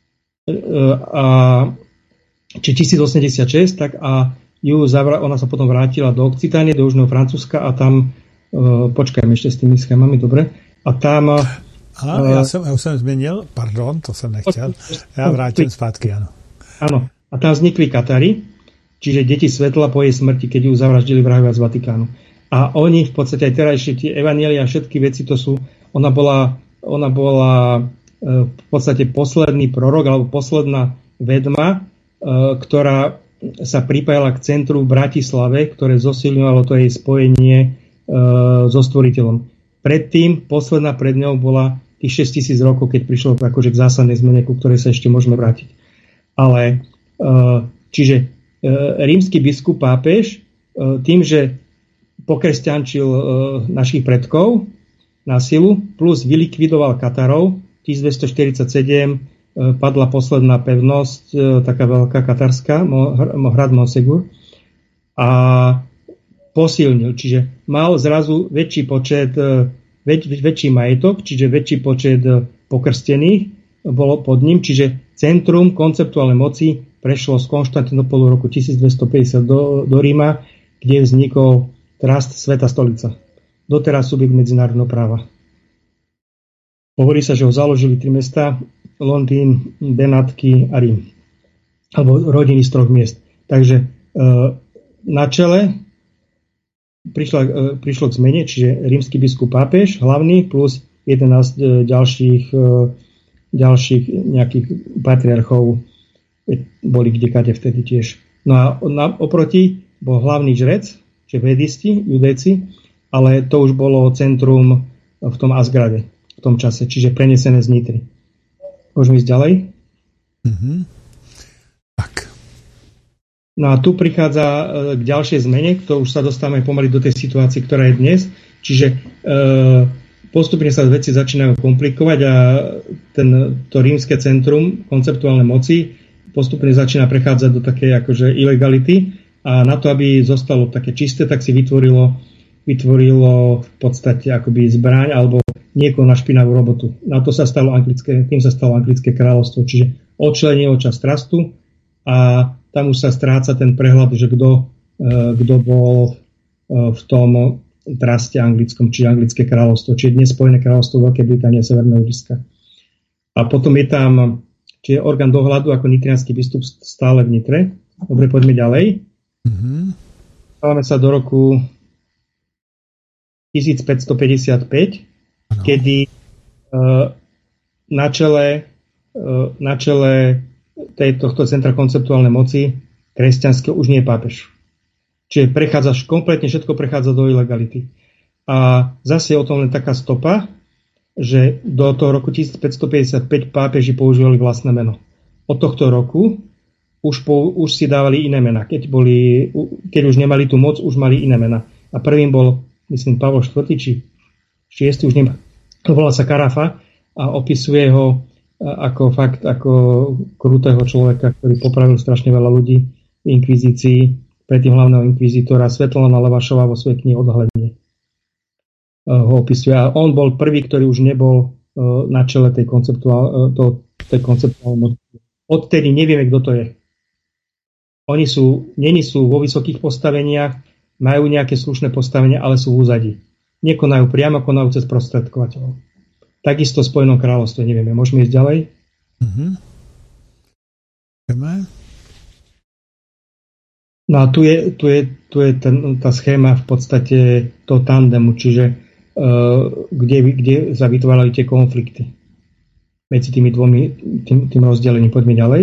či 1086, tak a ona sa potom vrátila do Occitánie, do Južného Francúzska a tam počkajme ešte s tými schémami, dobre. A tam... já jsem změnil, pardon, to jsem nechtěl. Já vrátím zpátky, ano. Áno. A tam vznikli Katari, čiže deti svetla po jej smrti, keď ju zavraždili vrahovia z Vatikánu. A oni v podstate aj terajšie tie evanjelia a všetky veci, to sú... Ona bola v podstate posledný prorok, alebo posledná vedma, ktorá sa pripájala k centru v Bratislave, ktoré zosilňovalo to jej spojenie so Stvoriteľom. Predtým, posledná pred ňou bola tých 6000 rokov, keď prišlo akože k zásadnej zmene, ku ktorej sa ešte môžeme vrátiť. Ale čiže rímsky biskup pápež tým, že pokresťančil našich predkov na silu, plus vylikvidoval Katarov, 1247 padla posledná pevnosť, taká veľká katarská, hrad Monsegur, a posilnil, čiže mal zrazu väčší počet, väčší majetok, čiže väčší počet pokrstených bolo pod ním, čiže centrum konceptuálnej moci prešlo z Konštantinopolu roku 1250 do Ríma, kde vznikol Trast Sveta stolica. Doteraz subjekt medzinárodného práva. Hovorí sa, že ho založili 3 mestá, Londýn, Benátky a Rím. Alebo rodiny z 3 miest. Takže na čele prišlo k zmene, čiže rímsky biskup pápež, hlavný, plus 11 ďalších nejakých patriarchov boli kdekade vtedy tiež. No a oproti bol hlavný žrec, čiže vedisti, judejci, ale to už bolo centrum v tom Asgrade v tom čase, čiže prenesené z Nitry. Môžeme ísť ďalej? Mm-hmm. Tak. No a tu prichádza k ďalšej zmene, to už sa dostávame pomaly do tej situácie, ktorá je dnes. Čiže postupne sa veci začínajú komplikovať a to rímske centrum konceptuálnej moci postupne začína prechádzať do takej akože ilegality a na to, aby zostalo také čisté, tak si vytvorilo v podstate akoby zbraň alebo niekoho na špinavú robotu. Na to sa stalo tým sa stalo anglické kráľovstvo, čiže odčlenilo časť trastu a tam už sa stráca ten prehľad, že kto bol v tom traste anglickom, čiže anglické kráľovstvo, čiže dnes Spojené kráľovstvo Veľkej Británie a Severného Írska. A potom je tam čiže orgán dohľadu ako nitriansky biskup stále v Nitre. Dobre, poďme ďalej. Mm-hmm. Stávame sa do roku 1555, kedy na čele tohto centra konceptuálnej moci kresťanského už nie je pápež. Čiže kompletne všetko prechádza do ilegality. A zase je o tom len taká stopa, že do toho roku 1555 pápeži používali vlastné meno. Od tohto roku už si dávali iné mená. Keď už nemali tú moc, už mali iné mená. A prvým bol, myslím, Pavol IV. či 6. už nemá. Volá sa Carafa a opisuje ho ako krutého človeka, ktorý popravil strašne veľa ľudí v inkvizícii, predtým hlavného inkvizítora Svetlana Levašová vo svojej knihe Odhalenie ho opisuje. A on bol prvý, ktorý už nebol na čele tej konceptuálnej. Odtedy nevieme, kto to je. Oni není sú vo vysokých postaveniach, majú nejaké slušné postavenia, ale sú v úzadí. Nekonajú priamo, konajú cez prostredkovateľov. Takisto v Spojenom kráľovstve, nevieme. Môžeme ísť ďalej? No a tu je tá schéma v podstate toho tandemu, čiže kde sa vytvárali tie konflikty medzi tými tým rozdelením. Poďme ďalej.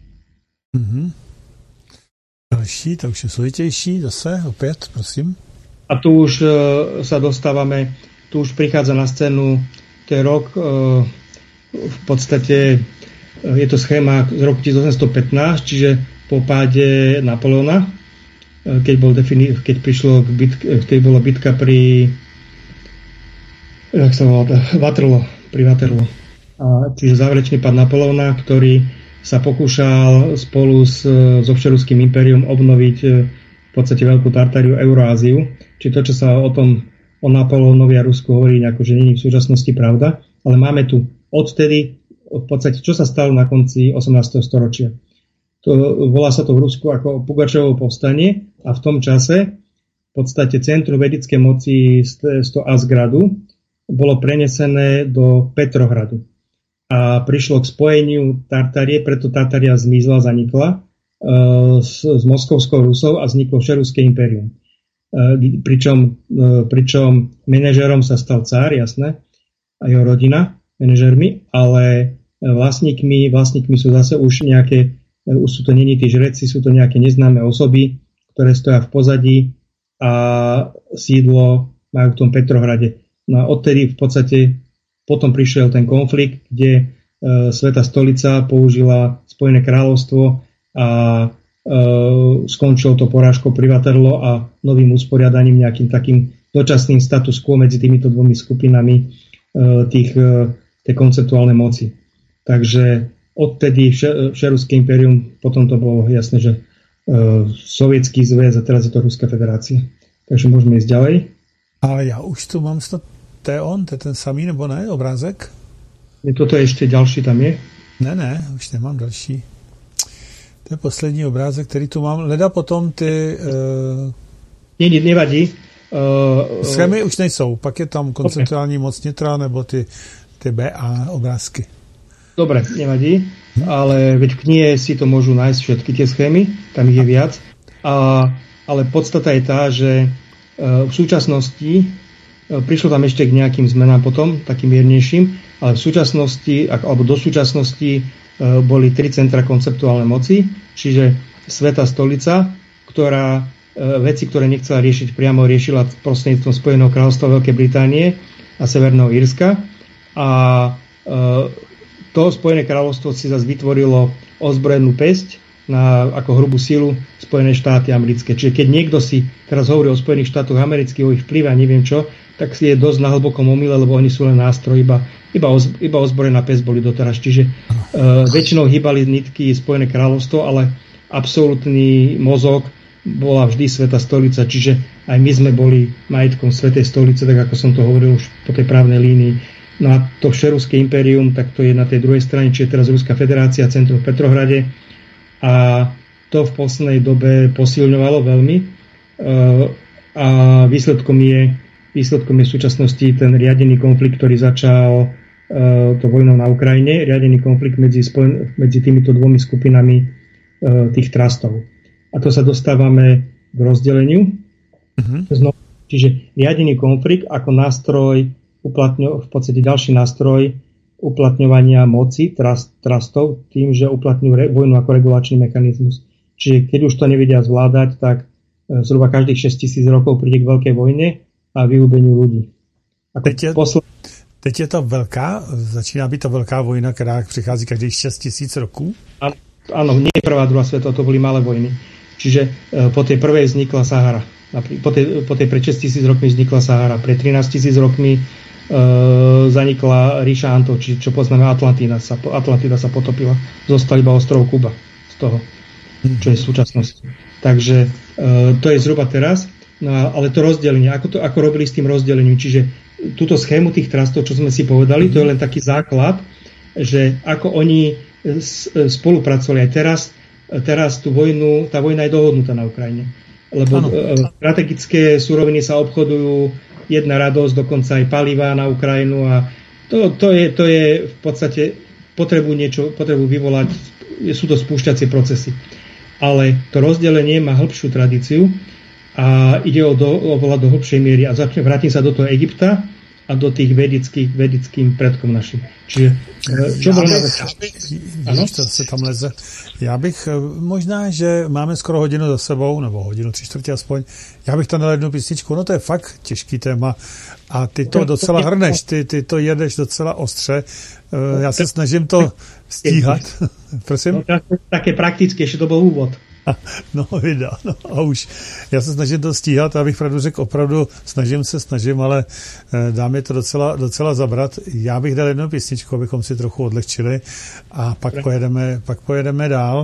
Další, to už je složitější, zase, opět, prosím. A tu už sa dostávame, tu už prichádza na scénu ten rok, v podstate je to schéma z roku 1815, čiže po páde Napoleona, keď bola bitka pri Waterloo. Čiže záverečný pád Napoleona, ktorý sa pokúšal spolu so Všeruským impériom obnoviť v podstate Veľkú Tartáriu, Euroáziu. Čiže to, čo sa o Napoleónovi a Rusku hovorí, nejako, že nie je v súčasnosti pravda, ale máme tu odtedy v podstate, čo sa stalo na konci 18. storočia. Volá sa to v Rusku ako Pugačovo povstanie a v tom čase v podstate centrum vedickej moci z toho Asgradu bolo prenesené do Petrohradu. A prišlo k spojeniu Tartárie, preto Tartária zmizla, zanikla s Moskovskou Rusou a vzniklo Všeruské impérium. Pričom manažérom sa stal cár, jasné, a jeho rodina, manažérmi, ale vlastníkmi sú zase už sú to není tí žreci, sú to nejaké neznáme osoby, ktoré stoja v pozadí a sídlo majú v tom Petrohrade. No a odtedy v podstate potom prišiel ten konflikt, kde Svätá stolica použila Spojené kráľovstvo a skončilo to porážkou pri Waterloo a novým usporiadaním, nejakým takým dočasným status quo medzi týmito dvomi skupinami tej konceptuálnej moci. Takže odtedy Všeruské impérium, potom to bolo jasné, že Sovětský zväz a teraz je to Ruská federácia. Takže môžeme ísť ďalej. Ale já už tu mám snad, to je ten samý, nebo ne, obrázek? Toto je ještě další, tam je? Ne, už nemám další. To je poslední obrázek, který tu mám. Leda potom ty... Nevadí. Schémy už nejsou, pak je tam konceptuální moc nitra, nebo ty BA obrázky. Dobre, nevadí, ale veď v knihe si to môžu nájsť všetky tie schémy, tam ich je viac. Ale podstata je tá, že v súčasnosti prišlo tam ešte k nejakým zmenám potom, takým miernejším, ale v súčasnosti, alebo do súčasnosti boli 3 centra konceptuálnej moci, čiže Svätá stolica, ktorá veci, ktoré nechcela riešiť priamo, riešila prostredníctvom Spojeného kráľovstva Veľkej Británie a Severného Írska. A to Spojené kráľovstvo si zase vytvorilo ozbrojenú päsť ako hrubú silu Spojené štáty americké. Čiže keď niekto si teraz hovorí o Spojených štátoch amerických, o ich vplyve a neviem čo, tak si je dosť na hlbokom omyle, lebo oni sú len nástroj, iba ozbrojená päsť boli doteraz. Čiže väčšinou hýbali nitky Spojené kráľovstvo, ale absolútny mozog bola vždy Svätá stolica. Čiže aj my sme boli majetkom Svätej stolice, tak ako som to hovoril už po tej právnej línii. No a to Všeruské impérium, tak to je na tej druhej strane, čiže teraz Ruská federácia, centrum v Petrohrade. A to v poslednej dobe posilňovalo veľmi. A výsledkom je v súčasnosti ten riadený konflikt, ktorý začal to vojnou na Ukrajine, riadený konflikt medzi týmito dvomi skupinami tých trastov. A to sa dostávame k rozdeleniu. Čiže riadený konflikt ako nástroj v podstate ďalší nástroj uplatňovania moci trastov tým, že uplatňujú vojnu ako regulačný mechanizmus. Čiže keď už to nevedia zvládať, tak zhruba každých 6 000 rokov príde k veľkej vojne a vyhubeniu ľudí. Teď je to začíná být to velká vojna, která přichází každých 6 000 roků? A áno, nie prvá, druhá svetová, to boli malé vojny. Čiže po tej prvej vznikla Sahara. Po tej pred 6 000 rokmi vznikla Sahara. Pred 13 000 rokmi zanikla ríša Antov, čo poznáme Atlantida sa potopila. Zostal iba ostrov Kuba z toho, čo je v súčasnosti. Takže to je zhruba teraz. No, ale to rozdelenie, ako robili s tým rozdelením, čiže túto schému tých trastov, čo sme si povedali, to je len taký základ, že ako oni spolupracovali aj teraz tú vojnu, tá vojna je dohodnutá na Ukrajine. Lebo strategické suroviny sa obchodujú, jedna radosť, dokonca aj paliva na Ukrajinu a to je v podstate potrebu vyvolať, sú to spúšťacie procesy. Ale to rozdelenie má hĺbšiu tradíciu a ide oveľa do hĺbšej miery a vrátim sa do toho Egypta a do tých vedickým predkom našim. Čiže Já bych možná, že máme skoro hodinu za sebou, nebo hodinu 3/4 aspoň, já bych tam dal jednu písničku, no to je fakt těžký téma a ty to docela hrneš, ty to jedeš docela ostře, já se snažím to stíhat. Prosím? No, také praktické, že to byl úvod. No, vida, no a už. Já se snažím to stíhat, abych pravdu řekl, opravdu snažím, ale dá mi to docela zabrat. Já bych dal jednu písničku, abychom si trochu odlehčili a pak pojedeme dál.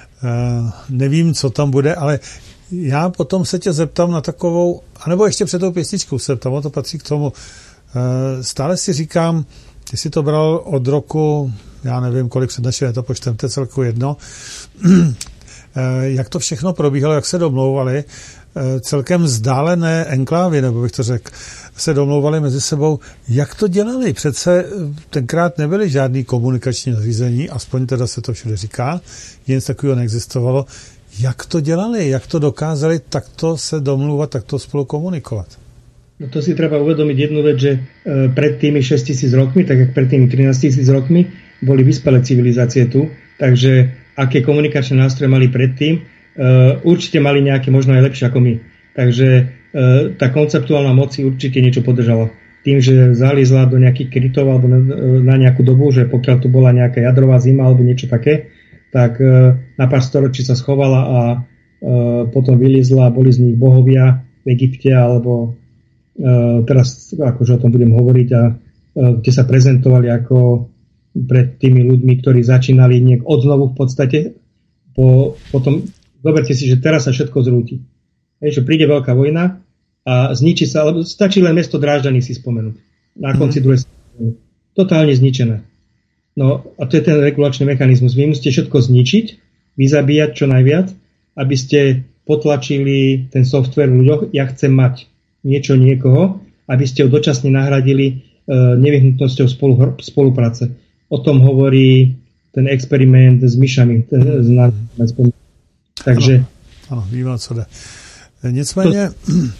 Nevím, co tam bude, ale já potom se tě zeptám na takovou, anebo ještě před tou písničkou se zeptám, to patří k tomu. Stále si říkám, ty jsi to bral od roku, já nevím, kolik před naším letopočtem, to je celku jedno, jak to všechno probíhalo, jak se domlouvali, celkem vzdálené enklávy, nebo bych to řekl, se domlouvali mezi sebou. Jak to dělali? Přece tenkrát nebyly žádný komunikační zařízení, aspoň teda se to všude říká, nic takového neexistovalo. Jak to dělali? Jak to dokázali takto se domlouvat, takto spolu komunikovat? No to si treba uvedomiť jednu vec, že pred tými 6 000 rokmi, tak jak pred tými 13 000 rokmi, boli vyspelé civilizácie tu, takže aké komunikačné nástroje mali predtým, určite mali nejaké možno aj lepšie ako my. Takže tá konceptuálna moc si určite niečo podržala. Tým, že zalízla do nejakých krytov alebo na nejakú dobu, že pokiaľ tu bola nejaká jadrová zima alebo niečo také, tak na pár storočí sa schovala a potom vylízla, boli z nich bohovia v Egypte alebo teraz akože o tom budem hovoriť a kde sa prezentovali ako pred tými ľuďmi, ktorí začínali odznovu v podstate. Potom zoberte si, že teraz sa všetko zrúti. Že príde veľká vojna a zničí sa, alebo stačí len mesto Drážďany si spomenúť. Na konci druhej strany. Totálne zničené. No a to je ten regulačný mechanizmus. Vy musíte všetko zničiť, vyzabíjať čo najviac, aby ste potlačili ten software v ľuďoch. Ja chcem mať niečo niekoho, aby ste ho dočasne nahradili nevyhnutnosťou spolupráce. O tom hovorí ten experiment s myšami. Takže... Ano, víme, co jde. Nicméně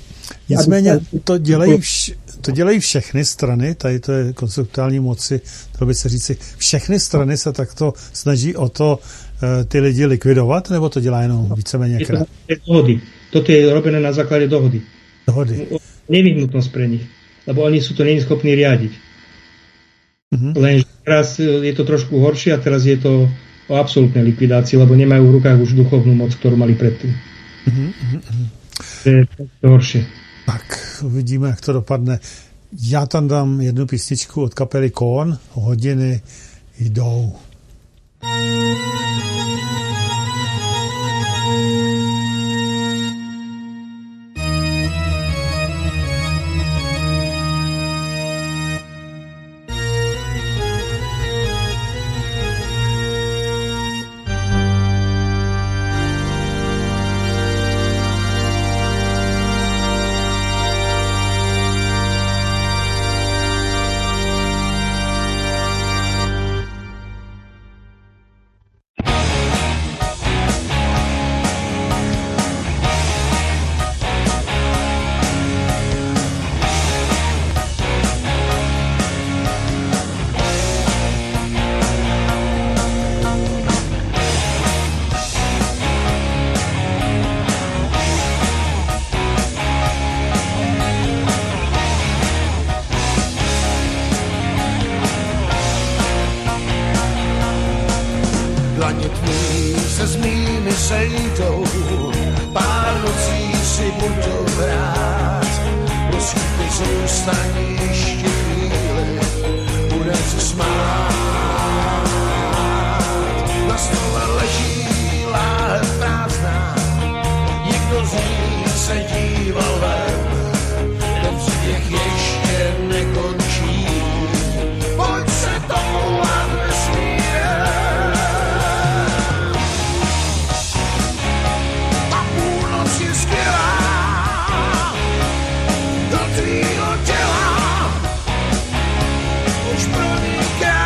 to dělají všechny strany, tady to je konceptuální moci, to by se říci, všechny strany se takto snaží o to ty lidi likvidovat, nebo to dělá jenom víceméně krát? Toto je robené na základe dohody. Nevyhnutnosť pre nich, lebo oni sú to není schopní riadiť. Lenže teraz je to trošku horšie a teraz je to o absolútnej likvidácii, lebo nemajú v rukách už duchovnú moc, ktorú mali predtým. Je to horšie. Tak, uvidíme, jak to dopadne. Já tam dám jednu písničku od kapely Korn, Hodiny jdou. tvý se s mými sejdou, pár nocí si budu hrát, prosím tě zůstaň ještě chvíli, budem se smát. Na stole leží láhev prázdná, nikdo z ní se díval ven, ten příběh ještě nekončí, pojď se toulat vesmírem. A půlnoc je skvělá, do tvýho těla už proniká.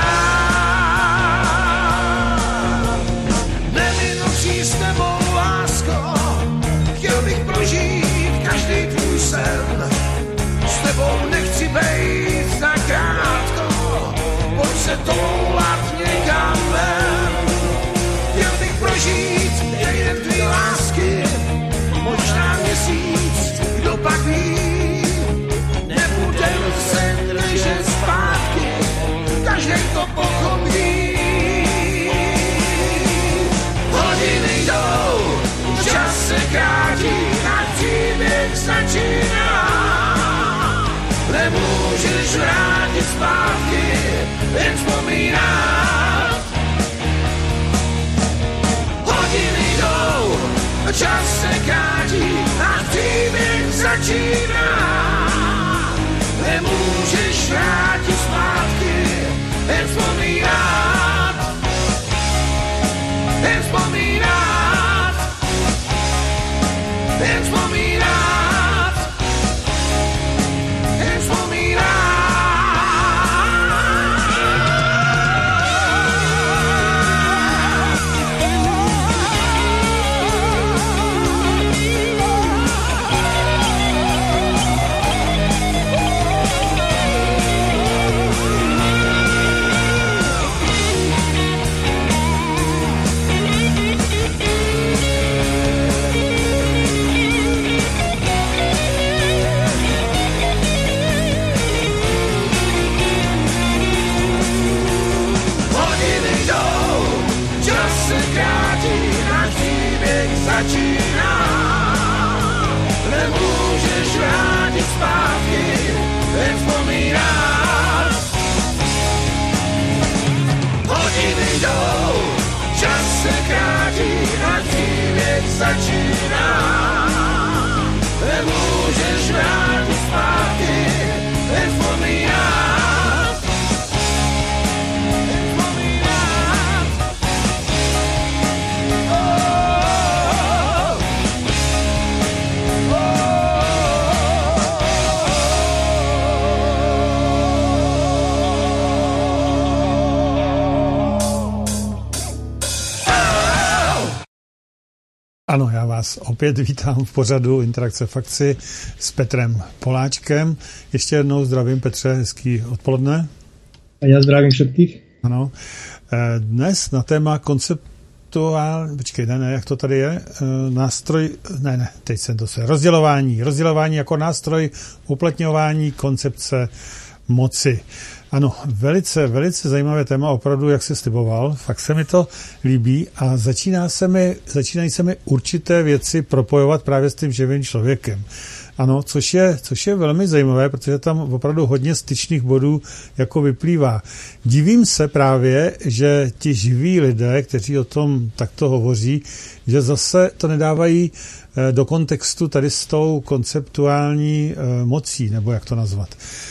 Neminoucí s tebou, lásko, chtěl bych prožít každý tvůj sen. S tebou nechci bejt tak krátko, pojď se toulat někam ven. Chtěl bych prožít jeden tvý lásky, možná měsíc, kdo pak ví. Nebudem se držet zpátky, každý to pochopí. Hodiny jdou, čas se krátí, a příběh začíná. Nemůžeš vrátit zpátky, jen vzpomínat. Hodiny jdou, čas se krátí, a příběh začíná. Nemůžeš vrátit zpátky, jen vzpomínat. Jen vzpomínat. Jen vzpomínat. Jen vzpomínat. Začíná, nemůžeš vrátit zpátky, jen vzpomínat. Hodiny jdou, čas se krátí, a příběh začíná. Nemůžeš vrátit zpátky, jen vzpomínat. Jen vzpomínat. Ano, já vás opět vítám v pořadu Interakce Fakci s Petrem Poláčkem. Ještě jednou zdravím, Petře, hezký odpoledne. A já zdravím všetkých. Ano. Dnes na téma jak to tady je? Teď jsem to se. Rozdělování jako nástroj uplatňování koncepce moci. Ano, velice, velice zajímavé téma, opravdu, jak se sliboval, fakt se mi to líbí a začínají se mi určité věci propojovat právě s tím živým člověkem. Ano, což je velmi zajímavé, protože tam opravdu hodně styčných bodů jako vyplývá. Divím se právě, že ti živí lidé, kteří o tom takto hovoří, že zase to nedávají do kontextu tady s tou konceptuální mocí, nebo jak to nazvat.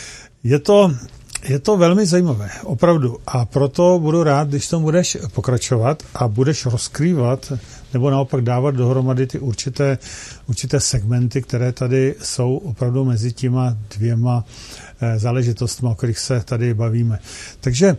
Je to velmi zajímavé, opravdu. A proto budu rád, když tom budeš pokračovat a budeš rozkrývat nebo naopak dávat dohromady ty určité segmenty, které tady jsou opravdu mezi těma dvěma záležitostmi, o kterých se tady bavíme. Takže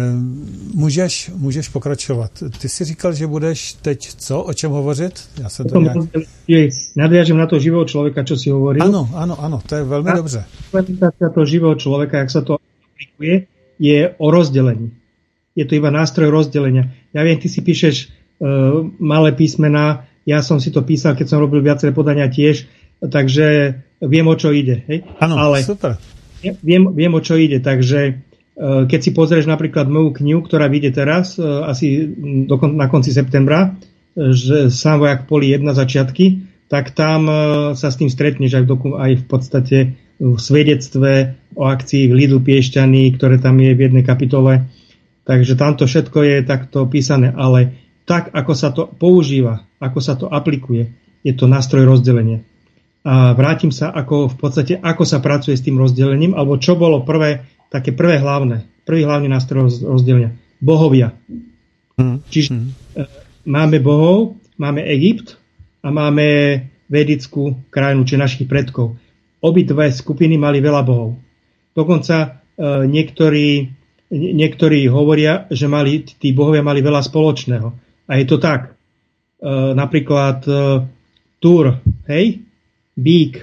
můžeš pokračovat. Ty jsi říkal, že budeš teď o čem hovořit? Já jsem to nějak... Nadviažem na to živého člověka, čo si hovoril. Ano, to je velmi dobře. Implementácia toho živého člověka, jak sa to aplikuje, je o rozdelení. Je to iba nástroj rozdelenia. Ja viem, ty si píšeš malé písmená, ja som si to písal, keď som robil viaceré podania tiež, takže viem, o čo ide. Hej? Áno, super. Viem, o čo ide, takže keď si pozrieš napríklad moju knihu, ktorá vyjde teraz, asi na konci septembra, že Sám vojak v poli 1 začiatky, tak tam sa s tým stretneš aj v podstate v svedectve o akcii v Lidl Piešťany, ktoré tam je v jednej kapitole. Takže tamto všetko je takto písané, ale tak, ako sa to používa, ako sa to aplikuje, je to nástroj rozdelenia. A vrátim sa, ako sa pracuje s tým rozdelením, alebo čo bolo prvý hlavný nástroj rozdelenia. Bohovia. Čiže máme bohov, máme Egypt a máme vedickú krajinu, či našich predkov. Obidve skupiny mali veľa bohov. Dokonca niektorí hovoria, že tí bohovia mali veľa spoločného. A je to tak. Napríklad Túr, hej? Bík.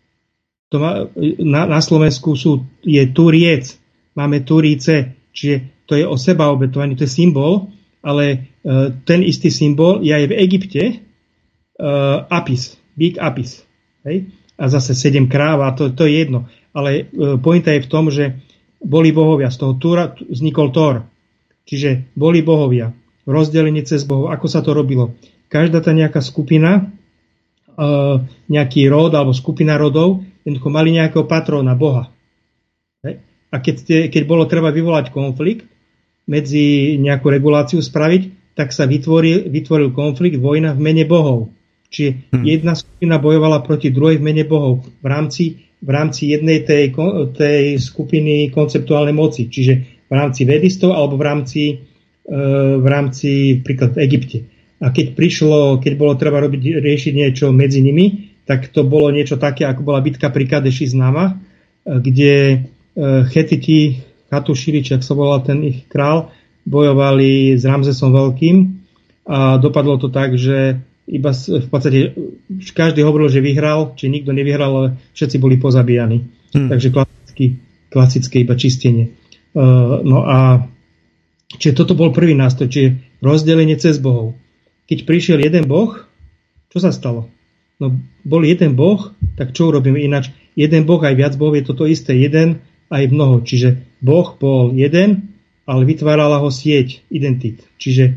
Na Slovensku je Túriec. Máme Túrice, čiže to je o sebaobetovaní, to je symbol, ale ten istý symbol je aj v Egypte Apis, bík Apis. Hej? A zase 7 kráv, a to je jedno. Ale pointa je v tom, že boli bohovia. Z toho Túra vznikol Thor. Čiže boli bohovia. Rozdelenie cez bohov. Ako sa to robilo? Každá tá nejaká skupina, nejaký rod alebo skupina rodov, jednoducho mali nejakého patróna, boha. Hej? A keď bolo treba vyvolať konflikt, medzi nejakú reguláciu spraviť, tak sa vytvoril konflikt, vojna v mene bohov. Čiže jedna skupina bojovala proti druhej v mene bohov v rámci jednej tej skupiny konceptuálnej moci. Čiže v rámci vedistov alebo v rámci príklad v Egypte. A keď bolo treba riešiť niečo medzi nimi, tak to bolo niečo také, ako bola bitka pri Kadeši známa, kde Chetiti, Katuširi, či ak sa volal ten ich král, bojovali s Ramzesom Veľkým a dopadlo to tak, že iba v podstate každý hovoril, že vyhral, či nikto nevyhral, ale všetci boli pozabíjani. Takže klasické iba čistenie. No a čiže toto bol prvý nástroj, čiže rozdelenie cez bohov. Keď prišiel jeden boh, čo sa stalo? No bol jeden boh, tak čo urobíme ináč? Jeden boh aj viac bohov je toto isté, jeden aj mnoho. Čiže Boh bol jeden, ale vytvárala ho sieť identít. Čiže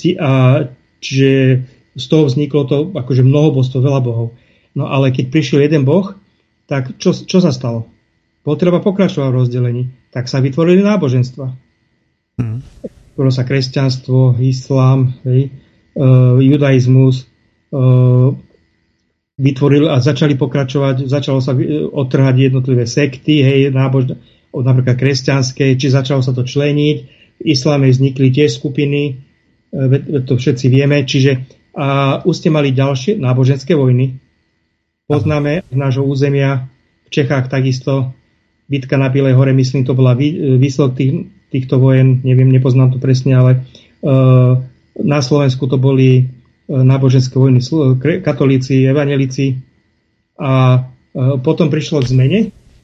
z toho vzniklo to akože mnohobožstvo, veľa bohov. No ale keď prišiel jeden boh, tak čo sa stalo? Potreba pokračovať v rozdelení. Tak sa vytvorili náboženstva. Vytvorilo sa kresťanstvo, islám, judaizmus, vytvorili a začali pokračovať, začalo sa odtrhať jednotlivé sekty, napríklad kresťanské, či začalo sa to členiť. V islame vznikli tiež skupiny, to všetci vieme, a už ste mali ďalšie náboženské vojny. Poznáme z nášho územia v Čechách takisto bitka na Bielej hore, myslím, to bola výsledok týchto vojen, neviem, nepoznám to presne, ale na Slovensku to boli náboženské vojny, katolíci, evanjelici, a potom prišlo k zmene,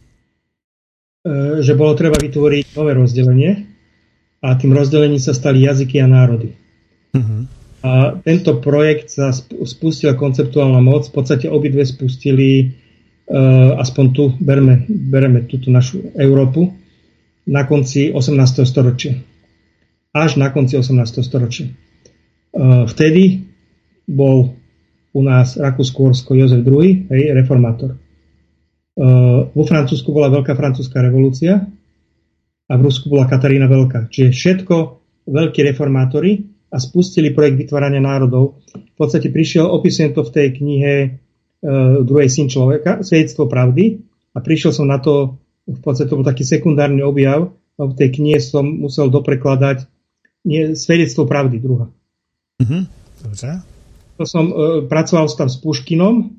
že bolo treba vytvoriť nové rozdelenie a tým rozdelením sa stali jazyky a národy. A tento projekt sa spustila konceptuálna moc, v podstate obidve spustili, aspoň tu bereme túto našu Európu, na konci 18. storočia. Až na konci 18. storočia. Vtedy bol u nás Rakúsko-Uhorsko Jozef II, reformátor. Vo Francúzsku bola Veľká francúzska revolúcia a v Rusku bola Katarína Veľká. Čiže všetko veľkí reformátori a spustili projekt vytvárania národov. V podstate opisujem to v tej knihe Druhej syn človeka, Svedectvo pravdy, a prišiel som na to, v podstate to bol taký sekundárny objav, a v tej knihe som musel doprekladať Svedectvo pravdy, druhá. Dobře. To som pracoval tam s Puškinom,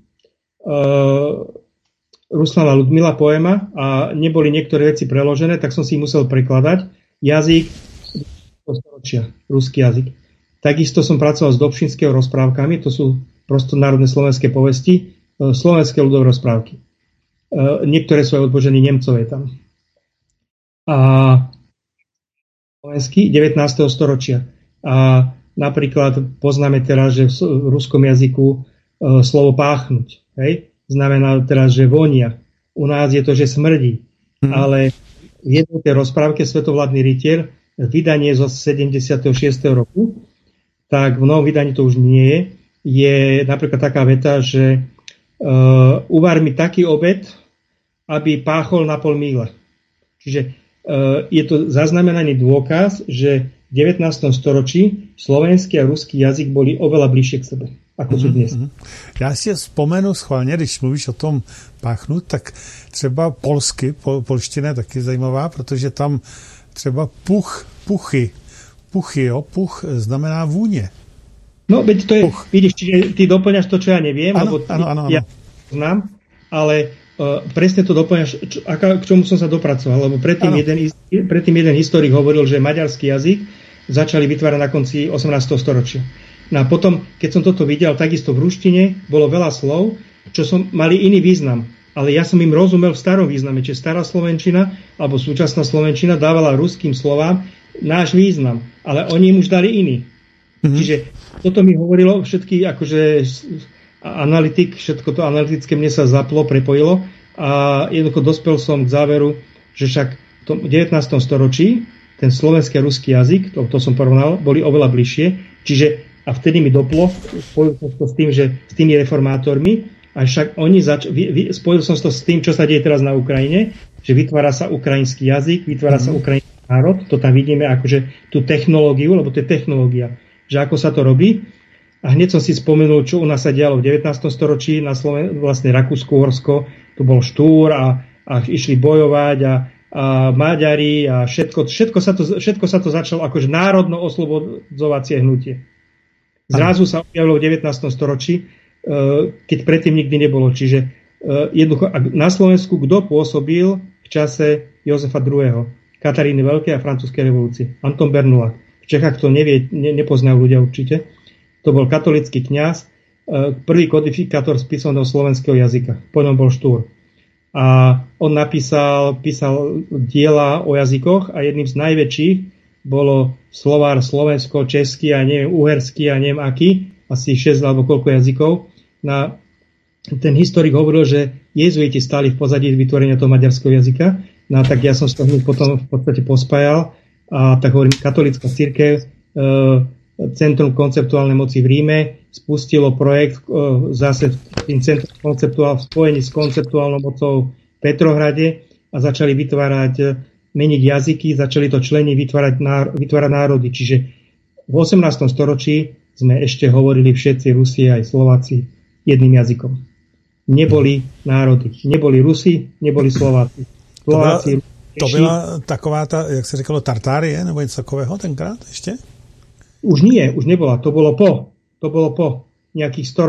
Ruslana Ludmila poema, a neboli niektoré veci preložené, tak som si ich musel prekladať. Jazyk storočia, ruský jazyk. Takisto som pracoval s Dobšinského rozprávkami, to sú prosto národné slovenské povesti, slovenské ľudové rozprávky. Niektoré sú aj odbožení Nemcové tam. A slovenský 19. storočia. A napríklad poznáme teraz, že v ruskom jazyku slovo páchnuť, hej? Znamená teraz, že vonia. U nás je to, že smrdí. Ale v jednej tej rozprávke Svetovládny rytier, vydanie zo 76. roku, tak v novom vydaní to už nie je. Je napríklad taká veta, že uvar mi taký obed, aby páchol na pol míle. Čiže je to zaznamenaný dôkaz, že v 19. storočí slovenský a ruský jazyk boli oveľa bližšie k sebe, ako sú dnes. Já si vzpomenu schválně, když mluvíš o tom páchnout, tak třeba polsky, polština je taky zajímavá, protože tam třeba puchy, puch znamená vůně. No, veď to je, vidíš, čiže ty doplňaš to, čo ja neviem, ano, lebo ano. Ja znám, ale presne to doplňaš, k čomu som sa dopracoval, lebo predtým jeden historik hovoril, že maďarský jazyk začali vytvárať na konci 18. storočia. No a potom, keď som toto videl, takisto v ruštine bolo veľa slov, čo mali iný význam, ale ja som im rozumel v starom význame, čiže stará slovenčina alebo súčasná slovenčina dávala ruským slovám náš význam, ale oni im už dali iný. Čiže toto mi hovorilo všetky, akože analytik, všetko to analytické mne sa zaplo, prepojilo a jednoducho dospel som k záveru, že však v tom 19. storočí ten slovenský a ruský jazyk, to som porovnal, boli oveľa bližšie, čiže a vtedy mi doplo, spojil som to s tým, že s tými reformátormi, a však oni spojil som to s tým, čo sa deje teraz na Ukrajine, že vytvára sa ukrajinský jazyk, vytvára sa ukrajinský národ, to tam vidíme akože tú technológiu, lebo to je technológia, že ako sa to robí. A hneď som si spomenul, čo u nás sa dialo v 19. storočí na vlastne Rakúsko-Uhorsko, to bol štúr a išli bojovať a Maďari a všetko sa to začalo akože národno oslobodzovacie hnutie. Zrazu sa objavilo v 19. storočí, keď predtým nikdy nebolo. Čiže jednoducho na Slovensku kto pôsobil v čase Jozefa II., Kataríny Veľkej a francúzskej revolúcie? Anton Bernulak. V Čechách to nepoznajú ľudia určite. To bol katolický kňaz, prvý kodifikátor spisovného slovenského jazyka. Po ňom bol Štúr. A on písal diela o jazykoch a jedným z najväčších bolo slovár slovensko-český a neviem, uherský a neviem aký, asi 6 alebo koľko jazykov. Ten historik hovoril, že jezuiti stáli v pozadí vytvorenia toho maďarského jazyka. No tak ja som sa potom v podstate pospájal a tak hovorím, katolícka cirkev, Centrum konceptuálnej moci v Ríme spustilo projekt zase tým centrum konceptuál v spojení s konceptuálnou mocou v Petrohrade a začali meniť jazyky, začali to členi vytvárať národy. Čiže v 18. storočí sme ešte hovorili všetci Rusi aj Slováci jedným jazykom. Neboli národy. Neboli Rusi, neboli Slováci. To byla taková ta, jak se říkalo, Tartárie, nebo něco takového tenkrát ještě? Už nie, už nebola. To bolo po nejakých 100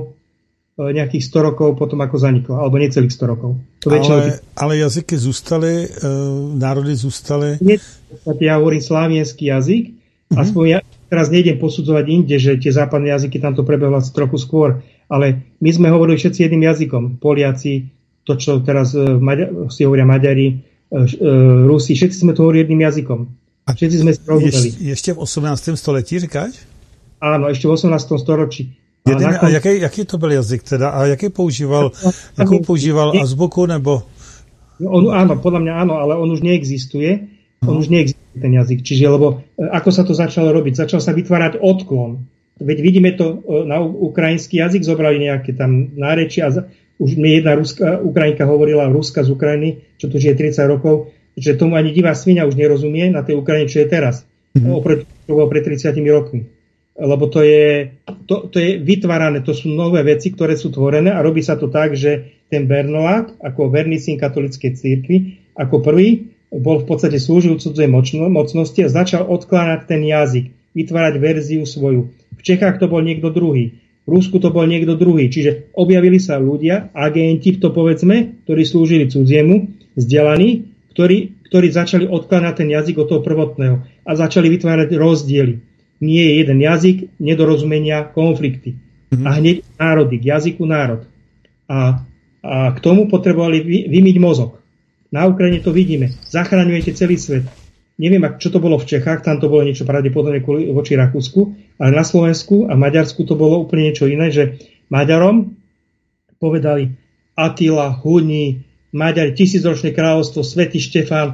rokov potom ako zaniklo, alebo necelých 100 rokov. Ale jazyky zůstaly, národy zůstaly. Ja hovorím slávienský jazyk, aspoň ja teraz nejdem posudzovať inde, že tie západné jazyky tam to prebehlo trochu skôr, ale my sme hovorili všetci jedným jazykom. Poliaci, to čo teraz si hovoria Maďari, Rusi, všetci sme to hovorili jedným jazykom. A všetci sme si rozumeli. Ještě v 18. století, říkáš? Áno, ešte v 18. storočí. A jaký to byl jazyk teda? A jakou používal azbuku, nebo? Áno, podľa mňa áno, ale on už neexistuje. On už neexistuje ten jazyk. Čiže, lebo ako sa to začalo robiť? Začal sa vytvárať odklon. Veď vidíme to, na ukrajinský jazyk zobrali nejaké tam nárečia. Už mi jedna Ukrajinka hovorila, Ruska z Ukrajiny, čo tu žije 30 rokov, že tomu ani divá svinia už nerozumie na tej Ukrajine, čo je teraz. Oproti čo bolo pred 30 rokmi. Lebo to je vytvárané, to sú nové veci, ktoré sú tvorené a robí sa to tak, že ten Bernolák, ako verný syn katolíckej cirkvi, ako prvý bol v podstate slúžil cudzej mocnosti a začal odkláňať ten jazyk, vytvárať verziu svoju. V Čechách to bol niekto druhý, v Rusku to bol niekto druhý. Čiže objavili sa ľudia, agenti, to povedzme, ktorí slúžili cudziemu, vzdelaní, ktorí začali odkláňať ten jazyk od toho prvotného a začali vytvárať rozdiely. Nie je jeden jazyk, nedorozumenia, konflikty. A hneď národy, k jazyku národ. A k tomu potrebovali vymyť mozog. Na Ukrajine to vidíme. Zachraňujete celý svet. Neviem, čo to bolo v Čechách, tam to bolo niečo pravdepodobne voči Rakúsku, ale na Slovensku a Maďarsku to bolo úplne niečo iné, že Maďarom povedali Attila, Huni, Maďari, 1000-ročné kráľovstvo, Svätý Štefán,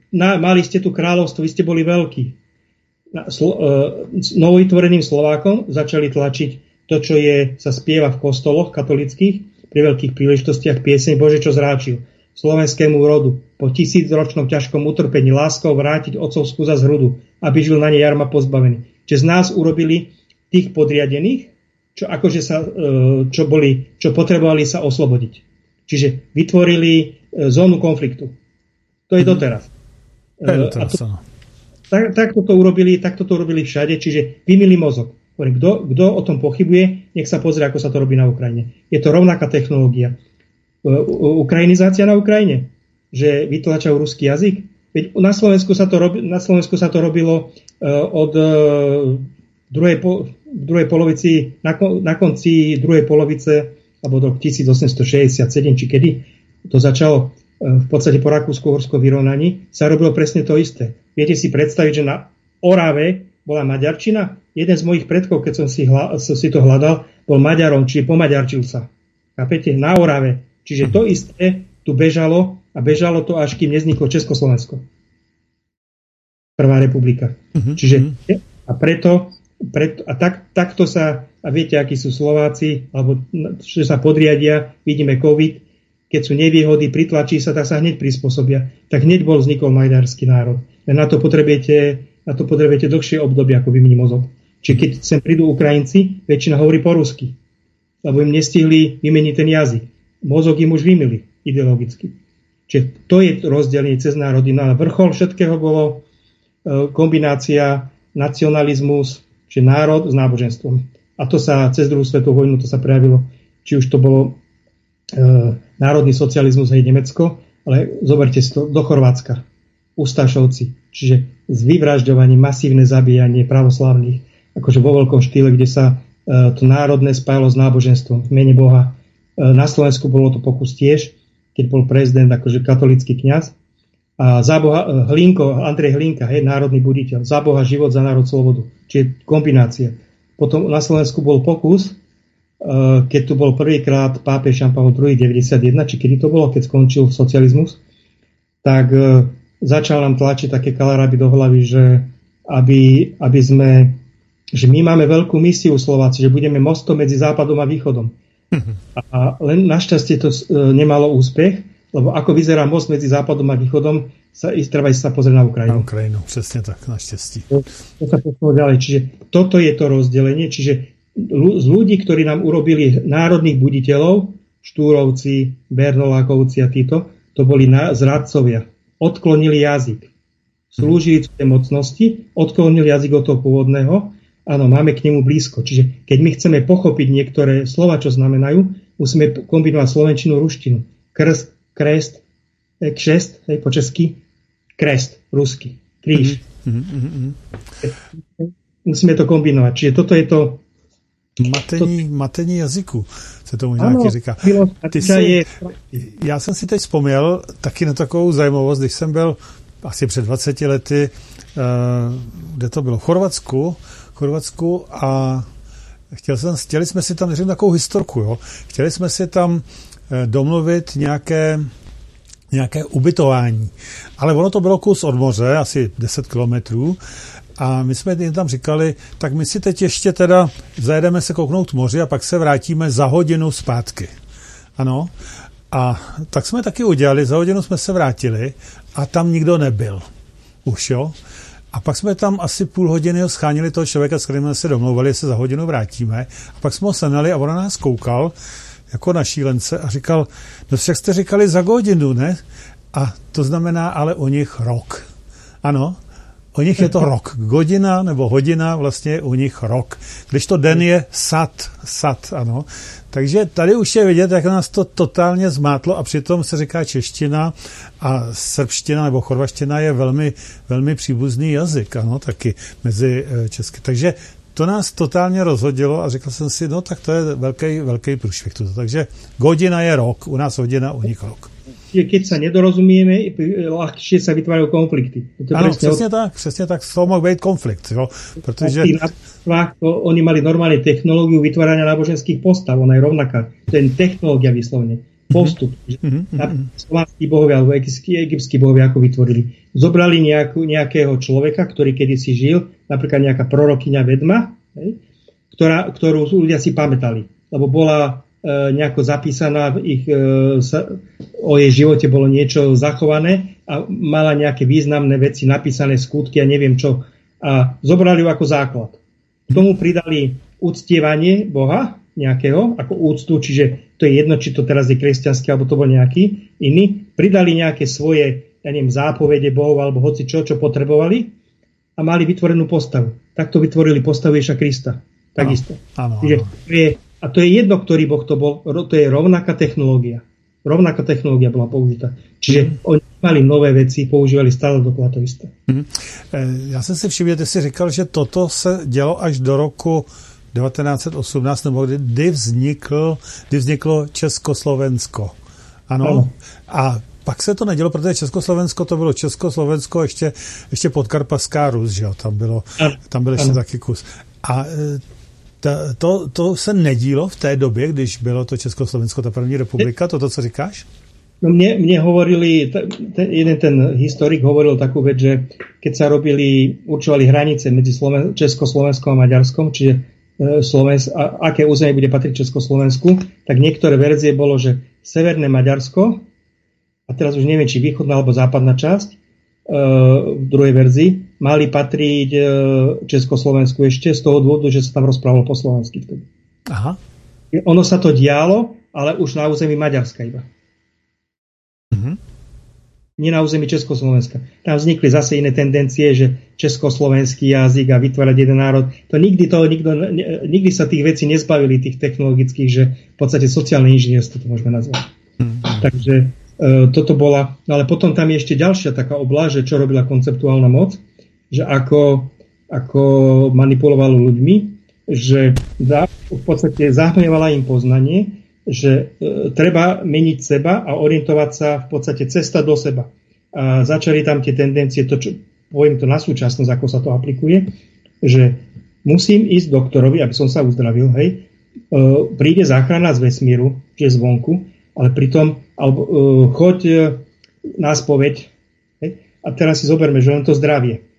mali ste tu kráľovstvo, vy ste boli veľkí. Novovytvoreným Slovákom začali tlačiť to, čo sa spieva v kostoloch katolických pri veľkých príležitostiach, pieseň Bože, čo zráčil slovenskému rodu po 1000-ročnom ťažkom utrpení láskou vrátiť otcovskú za zhrudu, aby žil na nej jarma pozbavený. Čiže z nás urobili tých podriadených, čo potrebovali sa oslobodiť. Čiže vytvorili zónu konfliktu. To je doteraz. Takto to urobili všade, čiže vymyli mozog. Kto o tom pochybuje, nech sa pozrie, ako sa to robí na Ukrajine. Je to rovnaká technológia. Ukrajinizácia na Ukrajine, že vytlačajú ruský jazyk. Veď na Slovensku sa to robilo od druhej polovici, na konci druhej polovice, alebo do 1867, či kedy to začalo v podstate po Rakúsko-Uhorskom vyrovnaní, sa robilo presne to isté. Viete si predstaviť, že na Orave bola maďarčina? Jeden z mojich predkov, keď som si to hľadal, bol Maďarom, čiže pomaďarčil sa. Chápete? Na Orave. Čiže to isté tu bežalo a bežalo to, až kým nevzniklo Československo. Prvá republika. Čiže a preto takto sa, a viete, akí sú Slováci, alebo že sa podriadia, vidíme COVID, keď sú nevýhody, pritlačí sa, tak sa hneď prispôsobia. Tak hneď vznikol maďarský národ. Na to potrebujete dlhšie obdobie, ako vymení mozog. Čiže keď sem prídu Ukrajinci, väčšina hovorí po rusky, lebo im nestihli vymeniť ten jazyk. Mozog im už vymili ideologicky. Čiže to je rozdelenie cez národy. No a vrchol všetkého bolo kombinácia nacionalizmus, čiže národ s náboženstvom. A to sa cez druhú svetovú vojnu to sa prejavilo, či už to bolo národný socializmus aj Nemecko, ale zoberte si to do Chorvátska. Ustašovci, čiže s vyvražďovaním, masívne zabíjanie pravoslávnych, akože vo veľkom štýle, kde sa to národné spájalo s náboženstvom v mene Boha. Na Slovensku bolo to pokus tiež, keď bol prezident akože katolícky kňaz. A za Boha Andrej Hlinka, národný buditeľ, za Boha život, za národ slobodu. Čiže kombinácia. Potom na Slovensku bol pokus, keď tu bol prvýkrát pápež Jan Pavol II 91, či kedy to bolo, keď skončil socializmus, tak začal nám tlačiť také kalaráby do hlavy, že aby sme, že my máme veľkú misiu Slováci, že budeme mostom medzi západom a východom. A len našťastie to nemalo úspech, lebo ako vyzerá most medzi západom a východom, treba sa pozrieť na Ukrajinu. Na Ukrajinu, přesně tak, naštěstí. To sa posunulo ďalej. Čiže toto je to rozdelenie, čiže z ľudí, ktorí nám urobili národných buditeľov, Štúrovci, Bernolákovci a títo, to boli zradcovia. Odklonili jazyk. Slúžili tej mocnosti, odklonili jazyk od toho pôvodného. Áno, máme k nemu blízko. Čiže keď my chceme pochopiť niektoré slova, čo znamenajú, musíme kombinovať slovenčinu, ruštinu. Krst, krest, kšest, po česky, krest, rusky, kríž. Musíme to kombinovať. Čiže toto je to matení jazyku, se tomu nějaký říká. Já jsem si teď vzpomněl taky na takovou zajímavost, když jsem byl asi před 20 lety, kde to bylo, v Chorvatsku a chtěli jsme si tam, řekněme, takovou historku, jo. Chtěli jsme si tam domluvit nějaké ubytování. Ale ono to bylo kus od moře, asi 10 kilometrů. A my jsme jim tam říkali, tak my si teď ještě teda zajedeme se kouknout moři a pak se vrátíme za hodinu zpátky. Ano. A tak jsme taky udělali, za hodinu jsme se vrátili a tam nikdo nebyl. Už jo. A pak jsme tam asi půl hodiny schánili toho člověka, s kterým jsme se domlouvali, že se za hodinu vrátíme. A pak jsme ho senali a on na nás koukal jako na šílence a říkal, no však jste říkali za hodinu, ne? A to znamená ale u nich rok. Ano. U nich je to rok. Godina nebo hodina vlastně je u nich rok. Když to den je sat, ano. Takže tady už je vidět, jak nás to totálně zmátlo a přitom se říká čeština a srbština nebo chorvaština je velmi, velmi příbuzný jazyk, ano, taky mezi česky. Takže to nás totálně rozhodilo a řekl jsem si, no tak to je velký průšvih. Takže godina je rok, u nás hodina, u nich rok. Keď sa nedorozumieme, ľahšie sa vytvárajú konflikty. Áno, přesně tak, z toho mohl být konflikt, jo, protože... Oni mali normálne technológiu vytvárania náboženských postav, ona je rovnaká. To je technológia vyslovene. postup. Slovanskí bohovia alebo egyptskí bohovia ako vytvorili. Zobrali nejakého človeka, ktorý kedysi žil, napríklad nejaká prorokyňa vedma, ktorú ľudia si pamätali, lebo bola nejako zapísaná o jej živote bolo niečo zachované a mala nejaké významné veci, napísané skutky a neviem čo. A zobrali ju ako základ. K tomu pridali uctievanie Boha nejakého, ako úctu, čiže to je jedno, či to teraz je kresťanský, alebo to bol nejaký iný. Pridali nejaké svoje, zápovede Bohov, alebo hoci čo potrebovali a mali vytvorenú postavu. Takto vytvorili postavu Ježiša Krista. Takisto. Áno. A to je jedno, ktorý Boh to bol, to je rovnaká technológia. Rovnaká technológia bola použitá. Čiže oni mali nové věci, používali stále dokola to isté. Já jsem si všiml, že jsi říkal, že toto se dělo až do roku 1918, nebo kdy vzniklo Československo. Ano. A pak se to nedělo, protože Československo to bylo Československo, ještě Podkarpatská Rus, že jo, tam byl ještě taky kus. A to se nedílo v té době, když bylo to Československo, ta první republika, toto, co říkáš? No mne hovorili, ten historik hovoril takú vec, že keď sa určovali hranice medzi Československom a Maďarskom, čiže aké územie bude patriť Československu, tak niektoré verzie bolo, že severné Maďarsko, a teraz už neviem, či východná alebo západná časť, v druhej verzii, mali patriť Československu ešte z toho dôvodu, že sa tam rozprávalo po slovensky vtedy. Aha. Ono sa to dialo, ale už na území Maďarska iba. Nie na území Československa. Tam vznikli zase iné tendencie, že československý jazyk a vytvárať jeden národ. Nikdy sa tých vecí nezbavili, tých technologických, že v podstate sociálne inžinierstvo to môžeme nazvať. Takže toto bola, ale potom tam je ešte ďalšia taká oblasť, že čo robila konceptuálna moc, že ako manipulovalo ľuďmi, že v podstate zahmlievala im poznanie, že treba meniť seba a orientovať sa v podstate cesta do seba. A začali tam tie tendencie, poviem to na súčasnosť, ako sa to aplikuje, že musím ísť doktorovi, aby som sa uzdravil, hej, príde záchrana z vesmíru, čiže zvonku, ale pritom choď na spoveď, hej, a teraz si zoberme, že len to zdravie.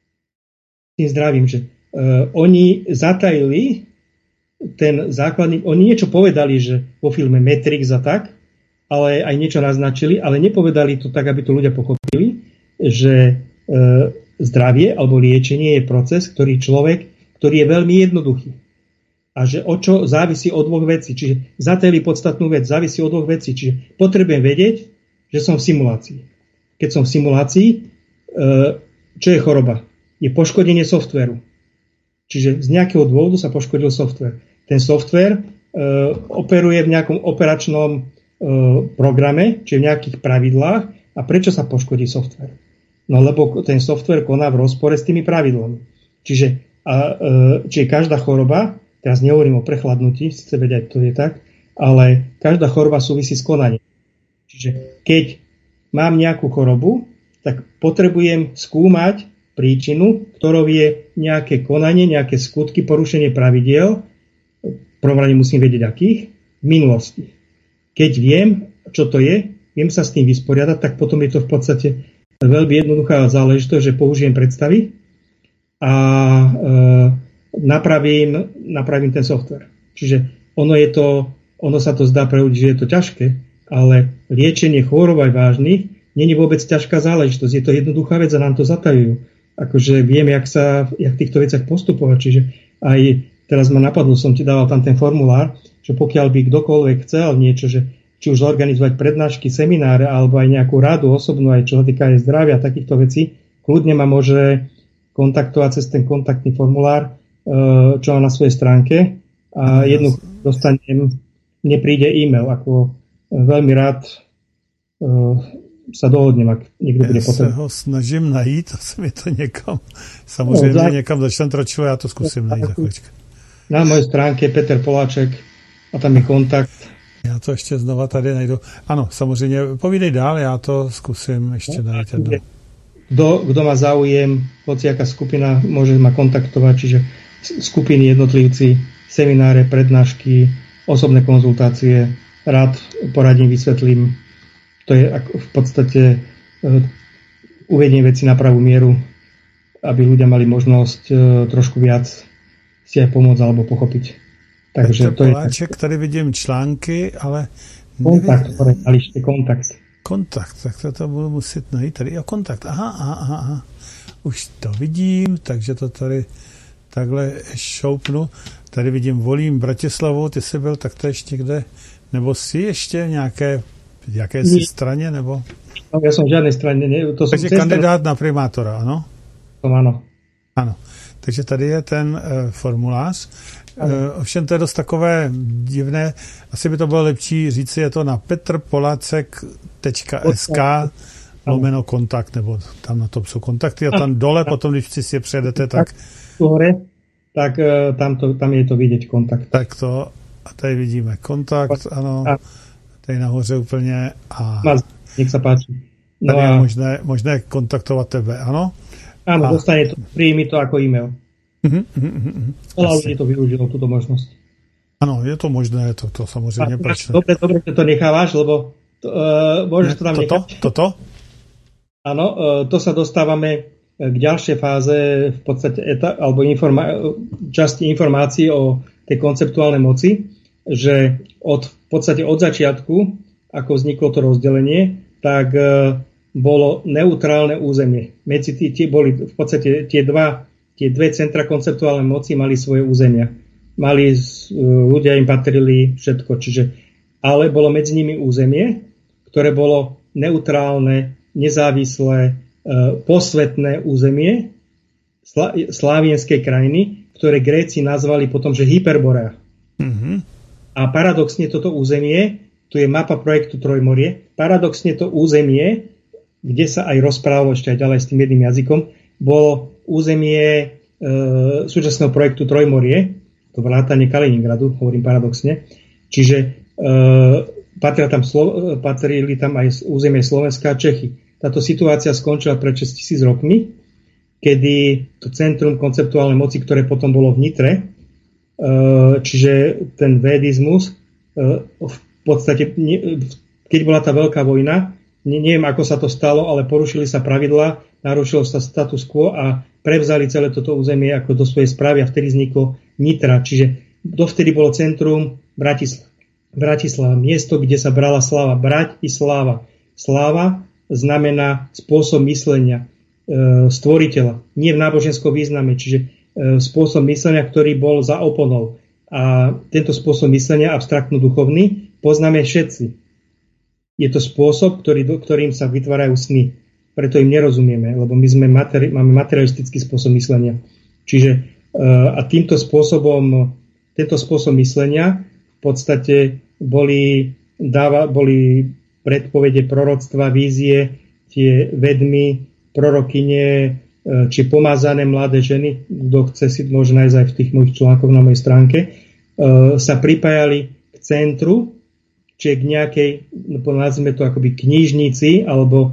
Tým zdravím, že oni zatajili ten základný, oni niečo povedali, že vo filme Matrix a tak, ale aj niečo naznačili, ale nepovedali to tak, aby to ľudia pochopili, že zdravie alebo liečenie je proces, ktorý je veľmi jednoduchý. A že o čo závisí od dvoch vecí. Čiže zatajili podstatnú vec, závisí od dvoch vecí. Čiže potrebujem vedieť, že som v simulácii. Keď som v simulácii, čo je choroba? Je poškodenie softvéru. Čiže z nejakého dôvodu sa poškodil softvér. Ten softvér operuje v nejakom operačnom programe, čiže v nejakých pravidlách. A prečo sa poškodí softvér? No lebo ten softvér koná v rozpore s tými pravidlami. Čiže každá choroba, teraz nehovorím o prechladnutí, sice vedieť, to je tak, ale každá choroba súvisí s konaním. Čiže keď mám nejakú chorobu, tak potrebujem skúmať príčinu, ktorou je nejaké konanie, nejaké skutky, porušenie pravidiel. V prvom rade musím vedieť, akých, v minulosti. Keď viem, čo to je, viem sa s tým vysporiadať, tak potom je to v podstate veľmi jednoduchá záležitosť, že použijem predstavy a napravím ten software. Čiže ono sa to zdá pre ľudí, že je to ťažké, ale liečenie chorôb aj vážnych nie je vôbec ťažká záležitosť. Je to jednoduchá vec a nám to zatajujú. Akože viem, jak v týchto veciach postupovať. Čiže aj teraz ma napadlo, som ti dával tam ten formulár, že pokiaľ by kdokoľvek chcel niečo, že či už zorganizovať prednášky, semináre, alebo aj nejakú radu osobnú, aj čo sa týka aj zdravia, takýchto vecí, kľudne ma môže kontaktovať cez ten kontaktný formulár, čo mám na svojej stránke a jednu dostanem, mne príde e-mail, ako veľmi rád sa dohodnem, ak niekto bude potrebný. Já se ho snažím najít, asi mi to někam, samozřejmě někam začnem tročilo, já to zkusím najít za chvíličku. Na mojej stránke Peter Poláček a tam je kontakt. Já to ještě znova tady najdu. Ano, samozřejmě, povídej dál, já to zkusím ještě najít. Kdo má záujem, hociaká skupina môže ma kontaktovať, čiže skupiny, jednotlivci, semináre, prednášky, osobné konzultácie, rád poradím, vysvetlím. To je v podstate uvedenie veci na pravú mieru, aby ľudia mali možnosť trošku viac si aj pomôcť alebo pochopiť. Takže to Poláček, tady vidím články, ale... Kontakt, alište kontakt. Kontakt, tak to budu muset najít tady. Jo, kontakt, aha. Už to vidím, takže to tady takhle šoupnu. Tady vidím, volím Bratislavu, ty jsi byl taktéž někde, nebo jsi ještě jakési straně, nebo? No, ja som v žiadnej strane. Takže kandidát na primátora, ano? Ano. Ano. Takže tady je ten formulář. Ovšem to je dost takové divné. Asi by to bylo lepší říci, je to na petrpolacek.sk /kontakt, nebo tam na to jsou kontakty a tam dole, potom když si je přejedete, tak... Hore, tak tam je to vidět kontakt. Tak to, a tady vidíme kontakt, ano, tady nahoře úplně a... Nech sa páči. No tady je možné kontaktovat tebe, ano? Áno, dostane to, príjmi to ako e-mail. Veľa ľudí to využilo, túto možnosť. Ano, je to možné, to samozřejmě proč. Dobre, že to nechávaš, lebo môžeš to tam nechať. Toto? Áno, to sa dostávame k ďalšej fáze v podstate alebo časti informácií o tej konceptuálnej moci, že v podstate od začiatku, ako vzniklo to rozdelenie, tak bolo neutrálne územie. Medzi tie boli v podstate tie dve centra konceptuálnej moci mali svoje územia. Ľudia im patrili všetko, ale bolo medzi nimi územie, ktoré bolo neutrálne, nezávislé, posvetné územie slávienskej krajiny, ktoré Gréci nazvali potom, že Hyperborea. Mm-hmm. A paradoxne toto územie, tu je mapa projektu Trojmorie, paradoxne to územie, kde sa aj rozprávalo ešte aj ďalej s tým jedným jazykom, bolo územie súčasného projektu Trojmorie, to vrátanie Kaliningradu, hovorím paradoxne. Čiže patrili tam aj územie Slovenska a Čechy. Táto situácia skončila pred 6000 rokmi, kedy to centrum konceptuálnej moci, ktoré potom bolo v Nitre, čiže ten védizmus, v podstate, keď bola tá veľká vojna, neviem, ako sa to stalo, ale porušili sa pravidlá, narušilo sa status quo a prevzali celé toto územie ako do svojej správy a vtedy vzniklo Nitra. Čiže dovtedy bolo centrum Bratislava, miesto, kde sa brala sláva. Brať i sláva. Sláva znamená spôsob myslenia stvoriteľa. Nie v náboženskom význame, čiže spôsob myslenia, ktorý bol za oponou. A tento spôsob myslenia, abstraktno-duchovný, poznáme všetci. Je to spôsob, ktorým sa vytvárajú sny. Preto im nerozumieme, lebo my máme materialistický spôsob myslenia. Čiže a tento spôsob myslenia v podstate boli predpovede, proroctva, vízie, tie vedmy, prorokyne, či pomázané mladé ženy, kto chce si môže nájsť aj v tých mojich článkoch na mojej stránke, sa pripájali k centru, čiže k nejakej, nazvime to akoby knižnici, alebo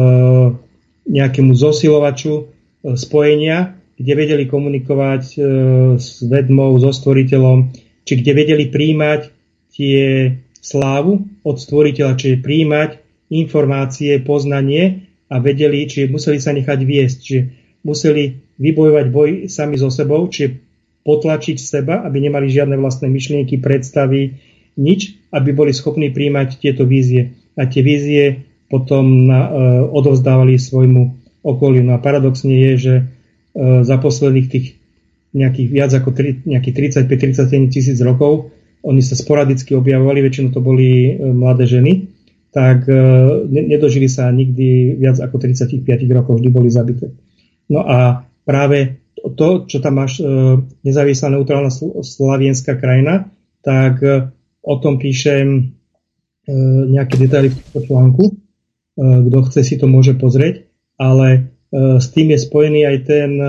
nejakému zosilovaču spojenia, kde vedeli komunikovať s vedmou, so stvoriteľom, či kde vedeli príjmať tie slávu od stvoriteľa, čiže príjmať informácie, poznanie a vedeli, čiže museli sa nechať viesť, čiže museli vybojovať boj sami so sebou, čiže potlačiť seba, aby nemali žiadne vlastné myšlienky, predstavy, nič, aby boli schopní príjmať tieto vízie. A tie vízie potom odovzdávali svojmu okoliu. No a paradoxne je, že za posledných tých nejakých viac ako nejakých 35-37 tisíc rokov oni sa sporadicky objavovali, väčšinou to boli mladé ženy, tak nedožili sa nikdy viac ako 35 rokov, vždy boli zabité. No a práve to, čo tam máš nezávislá neutrálna slavienská krajina, tak o tom píšem nejaké detaily v tomto článku. Kto chce, si to môže pozrieť, ale s tým je spojený aj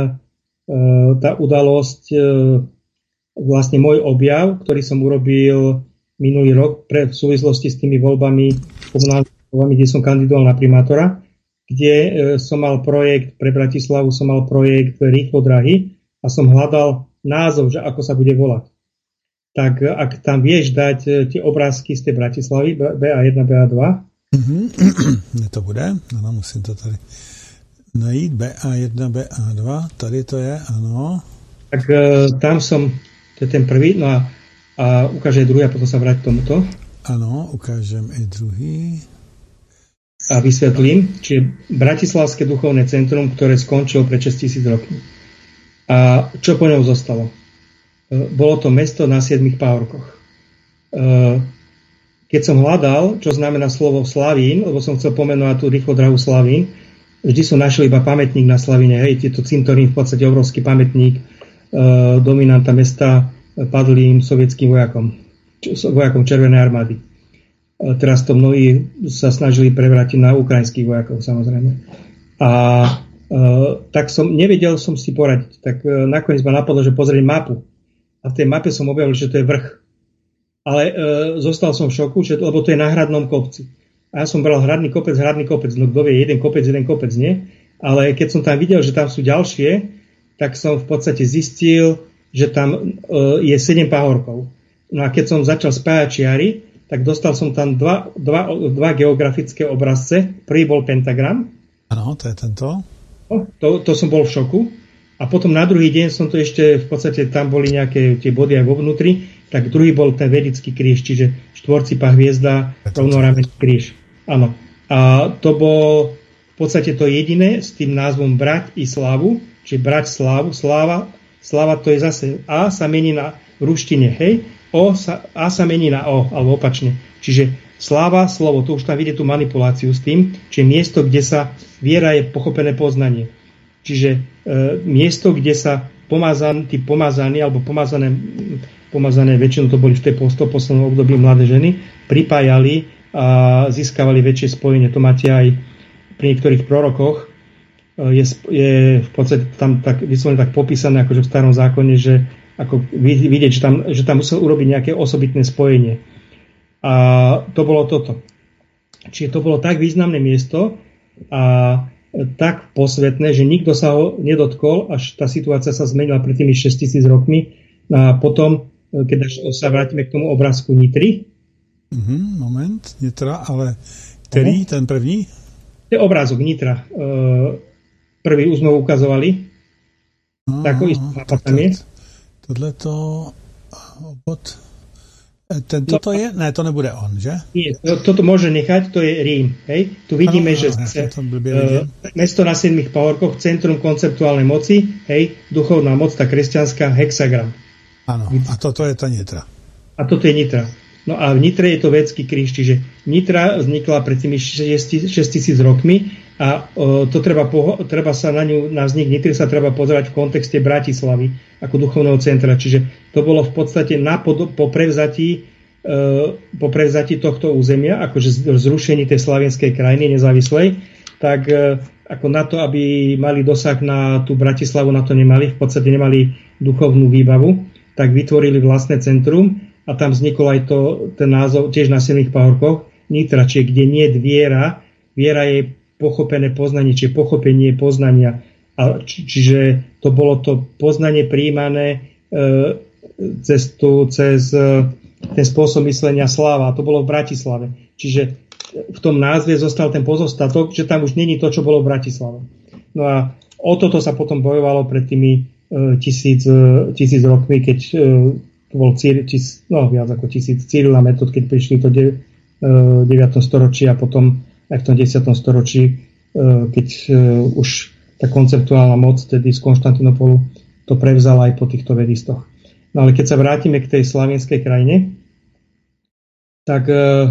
tá udalosť, vlastne môj objav, ktorý som urobil minulý rok v súvislosti s tými voľbami, komunálnymi voľbami, kde som kandidoval na primátora, kde som mal projekt pre Bratislavu, som mal projekt Rýchlo drahy a som hľadal názov, že ako sa bude volať. tak ak tam vieš dať tie obrázky z tej Bratislavy, BA1, BA2. To bude, ano, musím to tady najít, BA1, BA2, tady to je, ano. Tak tam som, to je ten prvý, no a ukáže aj druhý a potom sa vráť k tomuto. Ano, ukážem i druhý. A vysvetlím, čiže Bratislavské duchovné centrum, ktoré skončilo pred 6000 rokov. A čo po ňom zostalo? Bolo to mesto na 7 pahorkoch. Keď som hľadal, čo znamená slovo Slavín, lebo som chcel pomenovať tú rýchlo drahú Slavín, vždy som našiel iba pamätník na Slavíne, hej, tieto cintorín, v podstate obrovský pamätník dominanta mesta padlým sovietským vojakom Červenej armády. Teraz to mnohí sa snažili prevrátiť na ukrajinských vojakov, samozrejme. A tak nevedel som si poradiť. Tak nakoniec ma napadlo, že pozrieť mapu. A v tej mape som objavil, že to je vrch. Ale zostal som v šoku, lebo to je na hradnom kopci. A ja som bral hradný kopec, no kto vie, jeden kopec, nie? Ale keď som tam videl, že tam sú ďalšie, tak som v podstate zistil, že tam je 7 pahorkov. No a keď som začal spájať čiary, tak dostal som tam dva geografické obrazce. Prvý bol pentagram. Áno, to je tento. To som bol v šoku. A potom na druhý deň som to ešte, v podstate tam boli nejaké tie body aj vo vnútri, tak druhý bol ten vedický kríž, čiže štvorcipá hviezda, rovnoramenný kríž. Áno. A to bolo v podstate to jediné s tým názvom Brať i Slávu, čiže Brať Slávu, Sláva to je zase A sa mení na v ruštine, hej, A sa mení na O, alebo opačne. Čiže sláva, slovo, to už tam vidie tú manipuláciu s tým, čiže miesto, kde sa viera je pochopené poznanie. Čiže miesto, kde sa pomazaní alebo pomazané, väčšinou to boli v tej poslednom období mladé ženy, pripájali a získavali väčšie spojenie. To máte aj pri niektorých prorokoch. Je v podstate tam tak vyslovene tak popísané, akože v starom zákone, že ako vidieť, že tam musel urobiť nejaké osobitné spojenie. A to bolo toto. Čiže to bolo tak významné miesto a tak posvetné, že nikto sa ho nedotkol, až tá situácia sa zmenila pred tými 6000 rokmi. A potom, keď sa vrátime k tomu obrázku Nitry. Moment, Nitra, ale ktorý, ten první? To je obrázok Nitra. Prvý už sme ukazovali. Takový tam je. Tohleto obod... Toto je? Ne, to nebude on, že? Nie, toto môže nechať, to je Rím. Hej? Tu vidíme, že mesto na 7 pahorkoch, centrum konceptuálnej moci, hej, duchovná moc, tá kresťanská, hexagram. Áno, a toto je tá Nitra. A toto je Nitra. No a v Nitre je to védský kríž, čiže Nitra vznikla pred tými 6000 rokmi a to treba sa na vznik Nitry sa treba pozerať v kontexte Bratislavy ako duchovného centra. Čiže to bolo v podstate po prevzatí tohto územia, akože zrušení tej slavenskej krajiny nezávislej, tak ako na to, aby mali dosah na tú Bratislavu, na to nemali, v podstate nemali duchovnú výbavu, tak vytvorili vlastné centrum a tam vznikol aj ten názov tiež na 7 pahorkoch Nitra, čiže kde nie je viera je pochopené poznanie, čiže pochopenie poznania. A čiže to bolo to poznanie prijímané cez ten spôsob myslenia sláva. A to bolo v Bratislave. Čiže v tom názve zostal ten pozostatok, že tam už není to, čo bolo v Bratislave. No a o toto sa potom bojovalo pred tými 1000 rokmi, keď bol viac ako 1000 Cyril a Metod, keď prišli to 9. storočí a potom aj v tom 10. storočí, keď už tá konceptuálna moc tedy z Konštantinopolu to prevzala aj po týchto vedistoch. No ale keď sa vrátime k tej slavenskej krajine, tak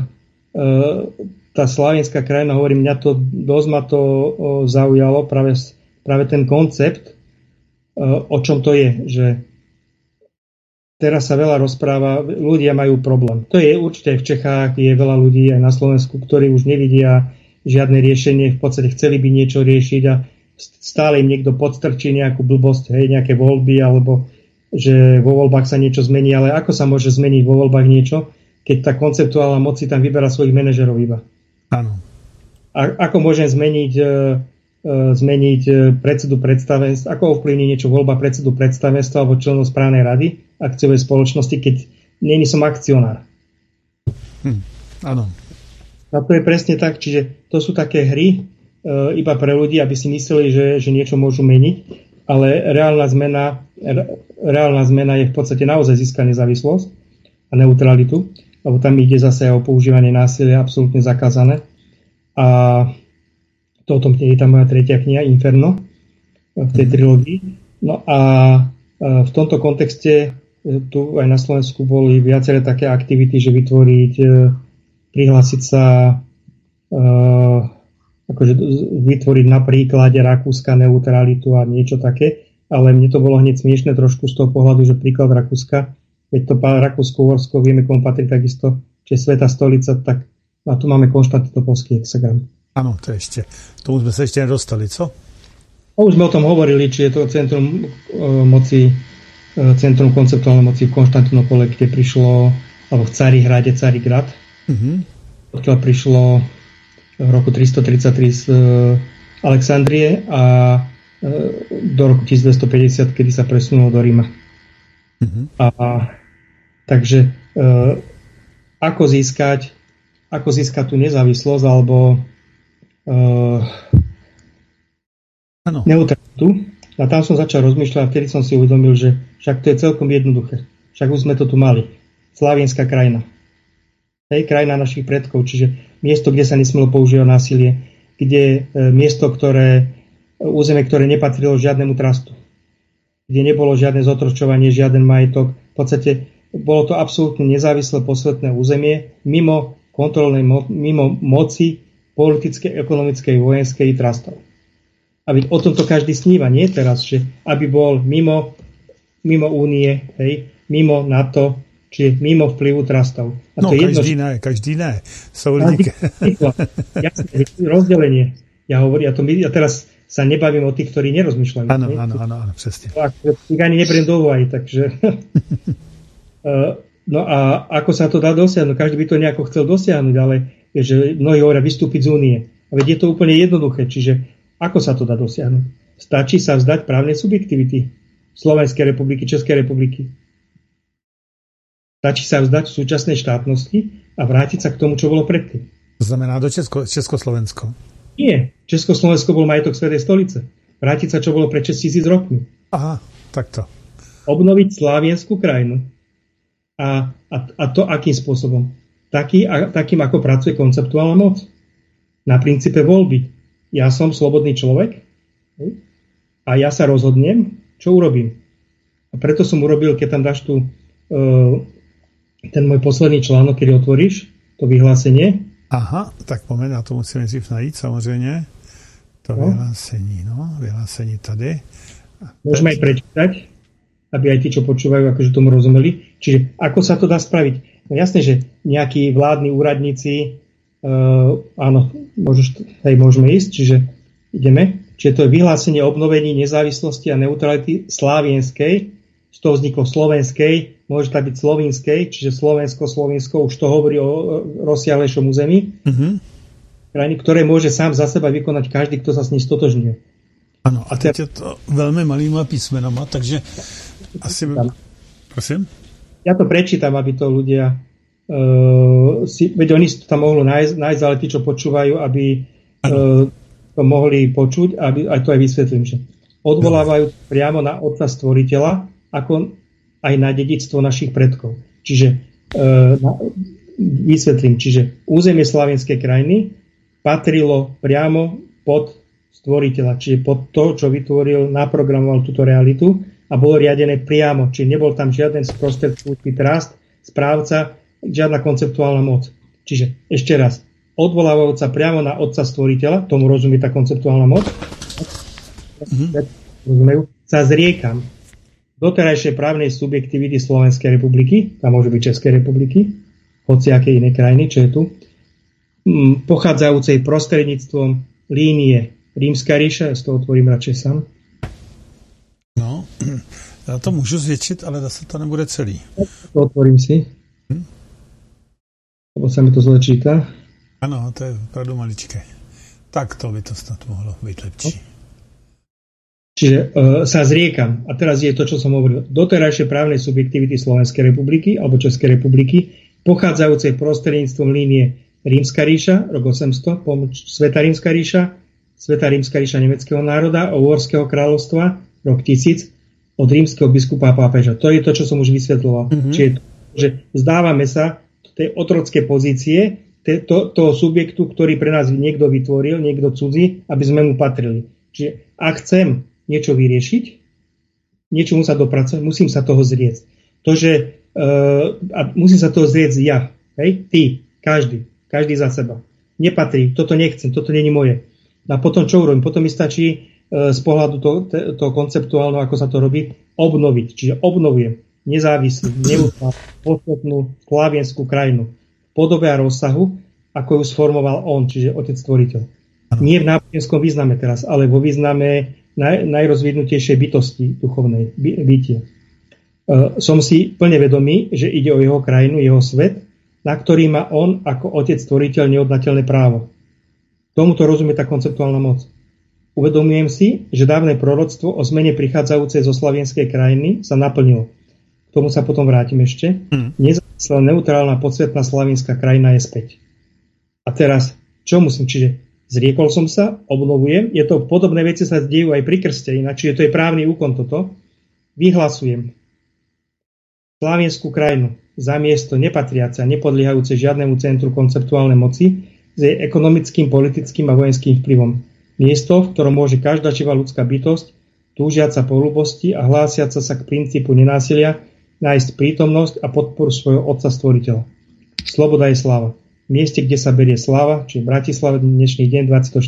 tá slavenská krajina, hovorím, dosť ma to zaujalo, práve ten koncept, o čom to je, že teraz sa veľa rozpráva, ľudia majú problém. To je určite v Čechách, je veľa ľudí aj na Slovensku, ktorí už nevidia žiadne riešenie, v podstate chceli by niečo riešiť a stále im niekto podstrčí nejakú blbosť, hej, nejaké voľby, alebo že vo voľbách sa niečo zmení, ale ako sa môže zmeniť vo voľbách niečo, keď tá konceptuálna moc si tam vyberá svojich manažerov iba. Áno. A ako môžem zmeniť predsedu predstavenstva, ako ovplyvní niečo voľba predsedu predstavenstva alebo členov správnej rady akciovej spoločnosti, keď není som akcionár. Áno. A to je presne tak, čiže to sú také hry iba pre ľudí, aby si mysleli, že niečo môžu meniť, ale reálna zmena je v podstate naozaj získať nezávislosť a neutralitu, lebo tam ide zase o používanie násilia, absolútne zakázané. A to o tom je tá moja tretia kniha, Inferno, v tej trilógii. No a v tomto kontexte tu aj na Slovensku boli viaceré také aktivity, že vytvoriť, prihlásiť sa, akože vytvoriť na príklade Rakúska neutralitu a niečo také, ale mne to bolo hneď smiešne trošku z toho pohľadu, že príklad Rakúska, veď to Rakúsko-Uhorsko, vieme, komu patrí takisto, či je Svätá stolica, tak a tu máme Konštantinopolský hexagram. Áno, to ešte, tomu sme sa ešte nedostali, co? Už sme o tom hovorili, či je to centrum moci, centrum konceptuálnej moci v Konštantinopole, kde prišlo, alebo v Carihrade, Carigrad, odkiaľ prišlo v roku 333 z Alexandrie a do roku 1250, kedy sa presunulo do Ríma. Takže ako získať tú nezávislosť alebo neutralitu. A tam som začal rozmýšľať a vtedy som si uvedomil, že však to je celkom jednoduché. Však už sme to tu mali. Slavienská krajina. Hej, krajina našich predkov, čiže miesto, kde sa nesmelo používať násilie, kde miesto, územie, ktoré nepatrilo žiadnemu trastu, kde nebolo žiadne zotročovanie, žiaden majetok. V podstate bolo to absolútne nezávislé posvetné územie, mimo kontrolnej mimo moci politickej, ekonomickej, vojenskej trastov. A o tomto každý sníva, nie teraz, že aby bol mimo únie, hej, mimo NATO, či mimo vplyvu trastov. A to každý ne. Sú lidi. Jasné, rozdelenie. Ja teraz sa nebavím o tých, ktorí nerozmýšľajú. Áno, presne. Ich ani neberiem do úvahy, takže... No a ako sa to dá dosiahnuť? Každý by to nejako chcel dosiahnuť, ale je, že mnohí hovoria vystúpiť z únie. A veď je to úplne jednoduché, čiže ako sa to dá dosiahnuť? Stačí sa vzdať právnej subjektivity Slovenskej republiky, Českej republiky. Stačí sa vzdať súčasnej štátnosti a vrátiť sa k tomu, čo bolo predtým. To znamená do Československo. Nie. Československo bol majetok Svätej stolice. Vrátiť sa, čo bolo pred 6000 rokmi. Aha, takto. Obnoviť slávienskú krajinu. A to akým spôsobom? Takým, ako pracuje konceptuálna moc. Na princípe voľby. Ja som slobodný človek a ja sa rozhodnem, čo urobím. A preto som urobil, keď tam dáš ten môj posledný článok, keď otvoríš to vyhlásenie. Aha, tak pomeň, ja to musím nejdřív najít, samozrejme. To vyhlásení tady. Môžeme aj prečítať, aby aj tí, čo počúvajú, akože tomu rozumeli. Čiže ako sa to dá spraviť? No jasné, že nejakí vládni úradníci, áno, môžeme ísť, čiže ideme. Čiže to je vyhlásenie obnovení nezávislosti a neutrality slávienskej, z toho vzniklo slovenskej, môže to byť slovinskej, čiže Slovensko, už to hovorí o rozsiahlejšom území, krajiny, ktoré môže sám za seba vykonať každý, kto sa s ním stotožňuje. Áno, a teď je to veľmi malýma písmenama, takže asi by... Prosím? Ja to prečítam, aby to ľudia veď oni to tam mohli nájsť, ale tí, čo počúvajú, aby to mohli počuť, aby aj to aj vysvetlím, že odvolávajú priamo na Otca Stvoriteľa, ako aj na dedičstvo našich predkov. Čiže vysvetlím, čiže územie Slavienskej krajiny patrilo priamo pod Stvoriteľa, čiže pod to, čo vytvoril, naprogramoval túto realitu a bolo riadené priamo, čiže nebol tam žiaden sprostredkujúci trast, správca, žiadna konceptuálna moc. Čiže ešte raz, odvolávajúca priamo na Otca Stvoriteľa, tomu rozumie tá konceptuálna moc, rozumejú, sa zriekam doterajšej právnej subjektivity Slovenskej republiky, tam môže byť Českej republiky, hociakej inej krajiny, čo je tu, pochádzajúcej prostredníctvom línie Rímska ríša, ja z toho otvorím radšej sám. No, ja to môžu zvětšiť, ale zase to nebude celý. To otvorím si. Lebo sa mi to zle číta. Ano, to je opravdu maličké. Tak to by to snad mohlo byť lepší. Čiže sa zriekam. A teraz je to, čo som hovoril. Doterajšie právnej subjektivity Slovenskej republiky alebo Českej republiky, pochádzajúcej prostredníctvom línie Rímska ríša, rok 800, Sveta Rímska ríša nemeckého národa, Uhorského kráľovstva, rok 1000, od rímskeho biskupa a pápeža. To je to, čo som už vysvetloval. Čiže že zdávame sa tej otrocké pozície toho subjektu, ktorý pre nás niekto vytvoril, niekto cudzí, aby sme mu patrili. Čiže ak chcem niečo vyriešiť, niečomu sa dopracovať, musím sa toho zrieť. A musím sa toho zrieť ja. Hej? Ty, každý za seba. Nepatrí, toto nechcem, toto nie je moje. A potom čo urobím? Potom mi stačí z pohľadu toho konceptuálneho, ako sa to robí, obnoviť. Čiže obnovujem nezávislú, neutrálnu, posvetnú slavienskú krajinu v podobe a rozsahu, ako ju sformoval on, čiže Otec Stvoriteľ. Nie v náboženskom význame teraz, ale vo význame najrozvinutejšej bytosti duchovnej bytia. Som si plne vedomý, že ide o jeho krajinu, jeho svet, na ktorý má on ako Otec Stvoriteľ neodnateľné právo. Tomuto rozumie tá konceptuálna moc. Uvedomujem si, že dávne proroctvo o zmene prichádzajúcej zo slavienskej krajiny sa naplnilo. K tomu sa potom vrátim ešte. Nezávislá, neutrálna, podsvetná slavienská krajina je späť. A teraz, čo musím? Čiže zriekol som sa, obnovujem. Je to podobné veci sa dejú aj pri krste, ináč, čiže to je právny úkon toto. Vyhlasujem slavienskú krajinu za miesto nepatriace a nepodliehajúce žiadnemu centru konceptuálnej moci s jej ekonomickým, politickým a vojenským vplyvom. Miesto, v ktorom môže každá živá ľudská bytosť, túžiaca po ľubosti a hlásiaca sa k princípu nenásilia, nájsť prítomnosť a podporu svojho Otca Stvoriteľa. Sloboda je sláva. V mieste, kde sa berie sláva, čiže Bratislava, dnešný deň,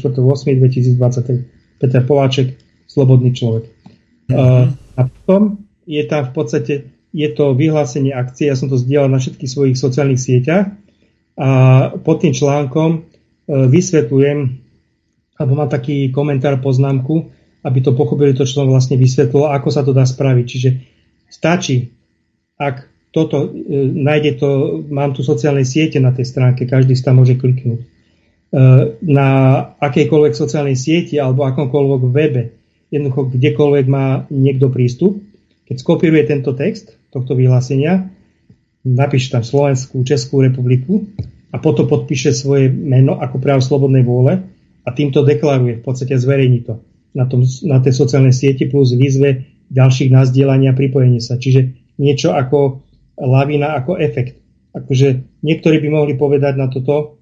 24.8.2023. Peter Poláček, slobodný človek. A potom je tam v podstate je to vyhlásenie akcie, ja som to zdieľal na všetkých svojich sociálnych sieťach a pod tým článkom vysvetľujem, alebo mám taký komentár, poznámku, aby to pochopili to, čo som vlastne vysvetlil, ako sa to dá spraviť. Čiže stačí, ak toto nájde to, mám tu sociálne siete na tej stránke, každý si tam môže kliknúť. Na akejkoľvek sociálnej sieti alebo akomkoľvek webe, jednoducho kdekoľvek má niekto prístup, keď skopíruje tento text tohto vyhlásenia, napíše tam Slovenskú, Českú republiku a potom podpíše svoje meno ako prejav slobodnej vôle a týmto deklaruje, v podstate zverejní to na tej sociálnej sieti plus výzve ďalších nazdieľania a pripojenie sa. Čiže niečo ako lavina, ako efekt. Akože niektorí by mohli povedať na toto,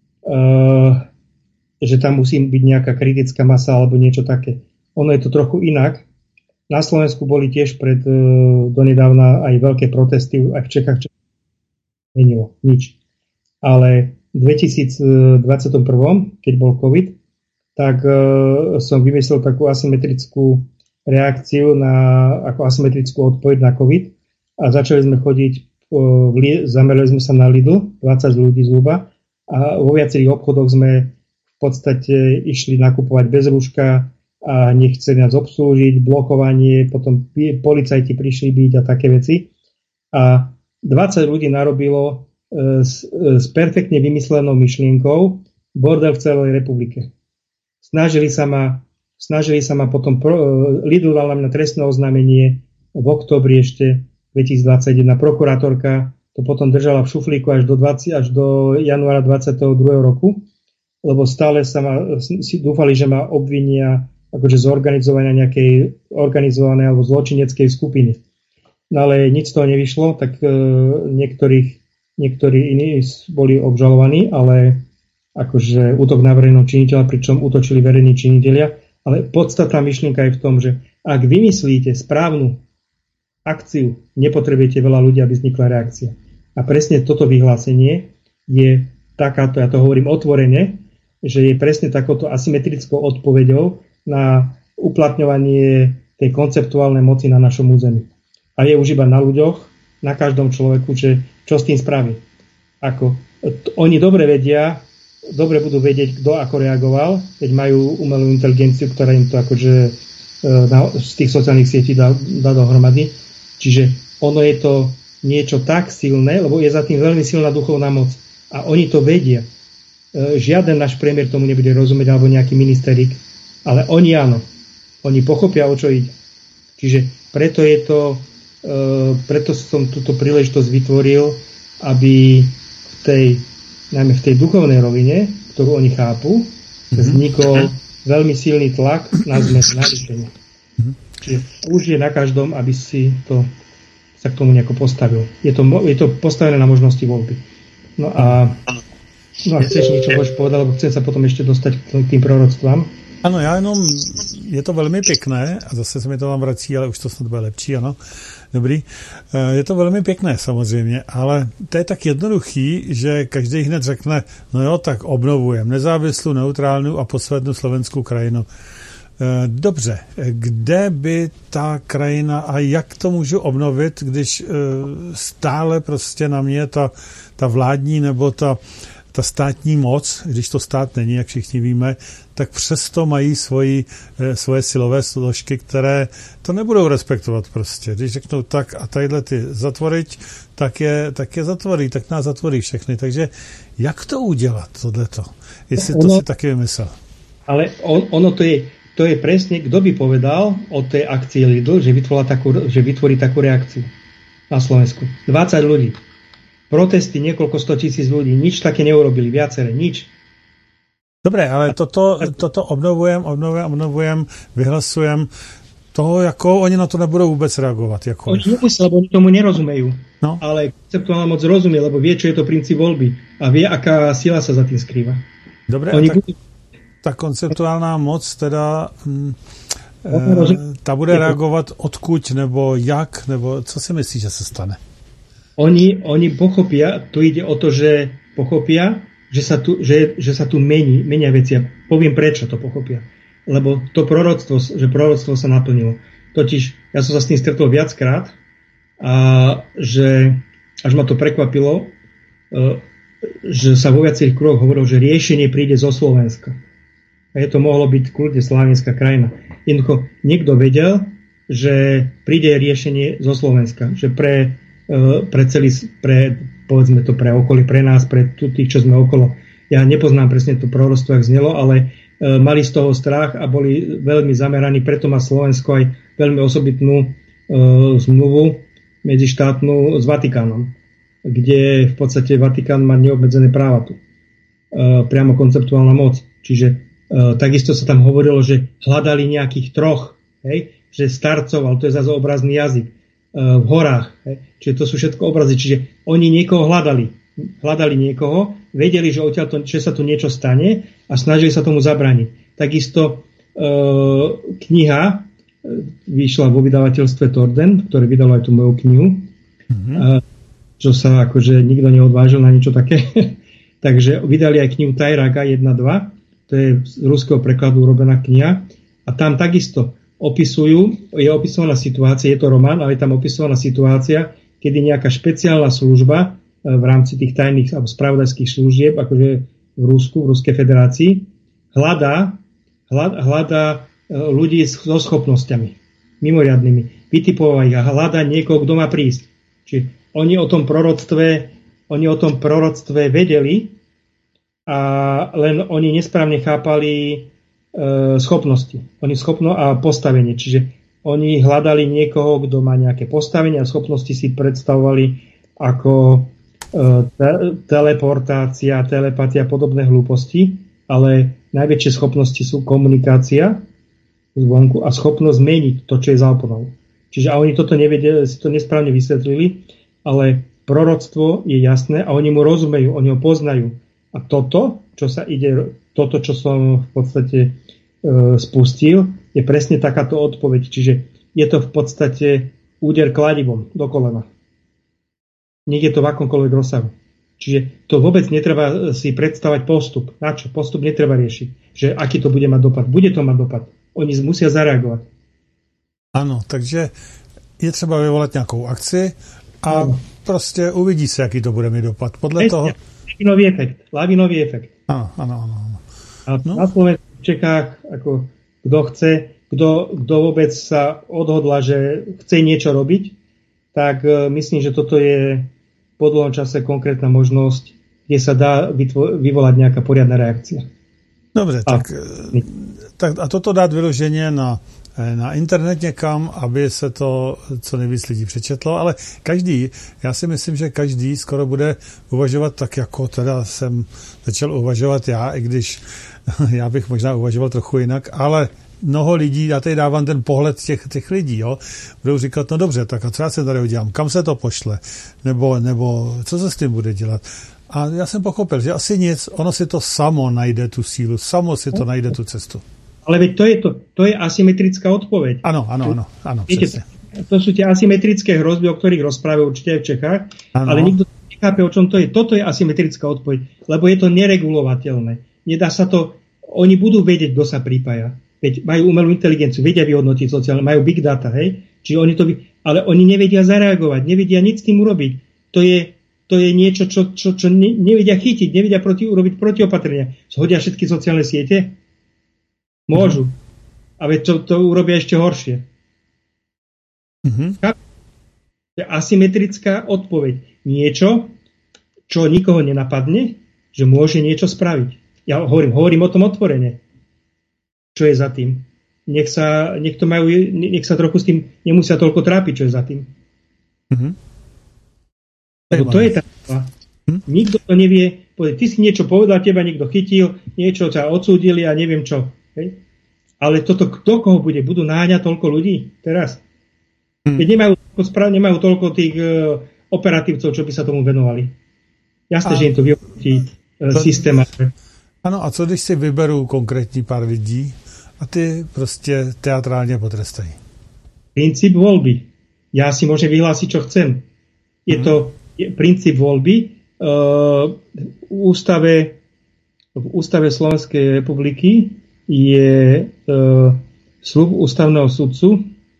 že tam musí byť nejaká kritická masa alebo niečo také. Ono je to trochu inak. Na Slovensku boli tiež donedávna aj veľké protesty, aj v Čechách, čo menilo, nič. Ale v 2021, keď bol COVID, tak som vymyslel takú asymetrickú reakciu ako asymetrickú odpoveď na COVID a začali sme chodiť, zamerali sme sa na Lidl, 20 ľudí zhruba a vo viacerých obchodoch sme v podstate išli nakupovať bez rúška a nechceli nás obslúžiť, blokovanie, potom policajti prišli byť a také veci. A 20 ľudí narobilo s perfektne vymyslenou myšlienkou bordel v celej republike. Snažili sa ma potom, Lidl dal na mňa trestné oznámenie v októbri ešte 2021. Prokurátorka to potom držala v šuflíku až do januára 22. roku, lebo stále dúfali, že ma obvinia akože zorganizovania nejakej organizovanej alebo zločineckej skupiny. No ale nič z toho nevyšlo, tak niektorí iní boli obžalovaní, ale akože útok na verejného činiteľa, pričom útočili verejní činitelia. Ale podstatná myšlienka je v tom, že ak vymyslíte správnu akciu, nepotrebujete veľa ľudí, aby vznikla reakcia. A presne toto vyhlásenie je takáto, ja to hovorím otvorene, že je presne takouto asymetrickou odpoveďou na uplatňovanie tej konceptuálnej moci na našom území. A je už iba na ľuďoch, na každom človeku, že čo s tým spraví. Oni dobre budú vedieť, kto ako reagoval, keď majú umelú inteligenciu, ktorá im to akože z tých sociálnych sietí dá dohromady. Čiže ono je to niečo tak silné, lebo je za tým veľmi silná duchovná moc. A oni to vedia. Žiaden náš premiér tomu nebude rozumieť, alebo nejaký ministerík, ale oni áno. Oni pochopia, o čo ide. Čiže preto som túto príležitosť vytvoril, aby najmä v tej duchovnej rovine, ktorú oni chápu, vznikol veľmi silný tlak na zmenu, na riešenie. Čiže už je na každom, aby sa k tomu nejako postavil. Je to postavené na možnosti voľby. No a chceš niečo povedať, lebo chcem sa potom ešte dostať k tým proroctvám. Ano, já jenom, je to velmi pěkné, a zase se mi to vám vrací, ale už to snad bude lepší, ano, dobrý. Je to velmi pěkné samozřejmě, ale to je tak jednoduchý, že každý hned řekne, no jo, tak obnovujeme nezávislou, neutrálnou a poslednou slovenskou krajinu. Dobře, kde by ta krajina a jak to můžu obnovit, když stále prostě na mě ta vládní nebo ta státní moc, když to stát není, jak všichni víme, tak přesto mají svoje silové složky, které to nebudou respektovat prostě. Když řeknou tak a tadyhle ty zatvoriť, tak je zatvorí, tak nás zatvorí všechny. Takže jak to udělat, tohleto? Jestli to si taky vymyslel. Ale ono to je presne, kto by povedal o tej akcii Lidl, že vytvorí takú reakciu na Slovensku. 20 ľudí. Protesty, niekoľko 100 000 ľudí. Nič také neurobili. Viaceré. Nič. Dobre, ale toto obnovujem, vyhlasujem. Toho, jako oni na to nebudou vůbec reagovat. Oni nemusia, lebo oni tomu nerozumejú. No. Ale konceptuálna moc rozumie, lebo vie, čo je to princíp voľby. A vie, aká sila sa za tým skrýva. Dobre, ta konceptuálna moc teda ta bude reagovat odkud, nebo jak, nebo co si myslíš, že se stane? Oni pochopia, tu ide o to, že pochopia, že sa tu menia veci. Ja poviem, prečo to pochopia. Lebo to proroctvo sa naplnilo. Totiž, ja som sa s tým stretol viackrát a že až ma to prekvapilo, že sa vo viacerých kruhoch hovorilo, že riešenie príde zo Slovenska. A je to mohlo byť kľudne slovenská krajina. Jednoducho, niekto vedel, že príde riešenie zo Slovenska. Že povedzme to pre okolie, pre nás, pre tých, čo sme okolo. Ja nepoznám presne to proroctvo, jak znelo, ale mali z toho strach a boli veľmi zameraní. Preto má Slovensko aj veľmi osobitnú zmluvu medzištátnu s Vatikánom, kde v podstate Vatikán má neobmedzené práva tu. Priamo konceptuálna moc. Čiže takisto sa tam hovorilo, že hľadali nejakých troch, že starcov, ale to je zase obrazný jazyk, v horách. Čiže to sú všetko obrazy. Čiže oni niekoho hľadali niekoho, vedeli, že že sa tu niečo stane a snažili sa tomu zabrániť. Takisto kniha vyšla vo vydavateľstve Torden, ktoré vydalo aj tú moju knihu, čo sa akože nikto neodvážil na niečo také. Takže vydali aj knihu Tajraga 1.2, to je z ruského prekladu urobená kniha a tam takisto je opisovaná situácia, je to román, ale je tam opisovaná situácia, kedy nejaká špeciálna služba v rámci tých tajných alebo spravodajských služieb, akože v Rusku, v Ruskej federácii, hľadá ľudí so schopnosťami mimoriadnymi, vytipová ich a hľadá niekoho, kto má prísť. Čiže oni o tom proroctve vedeli, a len oni nesprávne chápali schopnosti. A postavenie. Čiže oni hľadali niekoho, kto má nejaké postavenie a schopnosti si predstavovali ako teleportácia, telepatia a podobné hlúposti, ale najväčšie schopnosti sú komunikácia zvonku a schopnosť zmeniť to, čo je za oponou. Čiže a oni toto nevedeli, si to nesprávne vysvetlili, ale proroctvo je jasné a oni mu rozumejú, oni ho poznajú. A toto, čo som v podstate spustil, je presne takáto odpoveď. Čiže je to v podstate úder kladivom do kolena. Nech je to v akomkoľvek rozsahu. Čiže to vôbec netreba si predstavať postup. Na čo? Postup netreba riešiť. Že aký to bude mať dopad. Bude to mať dopad. Oni musia zareagovať. Ano, takže je třeba vyvolat nějakou akci a prostě uvidí se, jaký to bude mít dopad. Podle toho... Lavinový efekt. Áno. A na Slovensku, v Čechách, ako kto chce, kto vôbec sa odhodla, že chce niečo robiť, tak myslím, že toto je po dlhom čase konkrétna možnosť, kde sa dá vyvolať nejaká poriadna reakcia. Dobře, tak a toto dát vyloženě na na internet někam, aby se to co nejvíc lidí přečetlo, ale já si myslím, že každý skoro bude uvažovat tak, jako teda jsem začal uvažovat já, i když já bych možná uvažoval trochu jinak, ale mnoho lidí, já tady dávám ten pohled těch lidí, jo, budou říkat, no dobře, tak a co já se tady udělám, kam se to pošle, nebo co se s tím bude dělat. A já jsem pochopil, že asi nic, ono si to samo najde tu sílu, samo si to najde tu cestu. Ale veď to je asymetrická odpoveď. Áno, viete, to sú tie asymetrické hrozby, o ktorých rozprávajú určite aj v Čechách, ale nikto nechápe, o čom to je. Toto je asymetrická odpoveď, lebo je to neregulovateľné. Nedá sa to, oni budú vedieť, kto sa pripája. Veď majú umelú inteligenciu, vedia vyhodnotiť sociálne, majú big data, hej? Čiže ale oni nevedia zareagovať, nevedia nič s tým urobiť. To je niečo, čo nevedia chytiť, nevedia urobiť protiopatrenia. Zhodia všetky sociálne siete? Môžu. A veď to urobia ešte horšie. Asymetrická odpoveď. Niečo, čo nikoho nenapadne, že môže niečo spraviť. Ja hovorím o tom otvorene. Čo je za tým? Nech sa trochu s tým nemusia toľko trápiť, čo je za tým. Lebo to je tá. Nikto to nevie. Ty si niečo povedal, teba niekto chytil, niečo ťa odsúdili a neviem čo. Hej? Ale kto koho bude? Budú náňať toľko ľudí teraz? Keď nemajú toľko tých operatívcov, čo by sa tomu venovali. Jasné, že im to vyhodnotí systém. Ano, a co když si vyberou konkrétní pár lidí a ty prostě teatrálně potrestají? Princíp voľby. Ja si môžem vyhlásiť, čo chcem. Je to princíp voľby. V ústave Slovenskej republiky je sľub ústavného sudcu,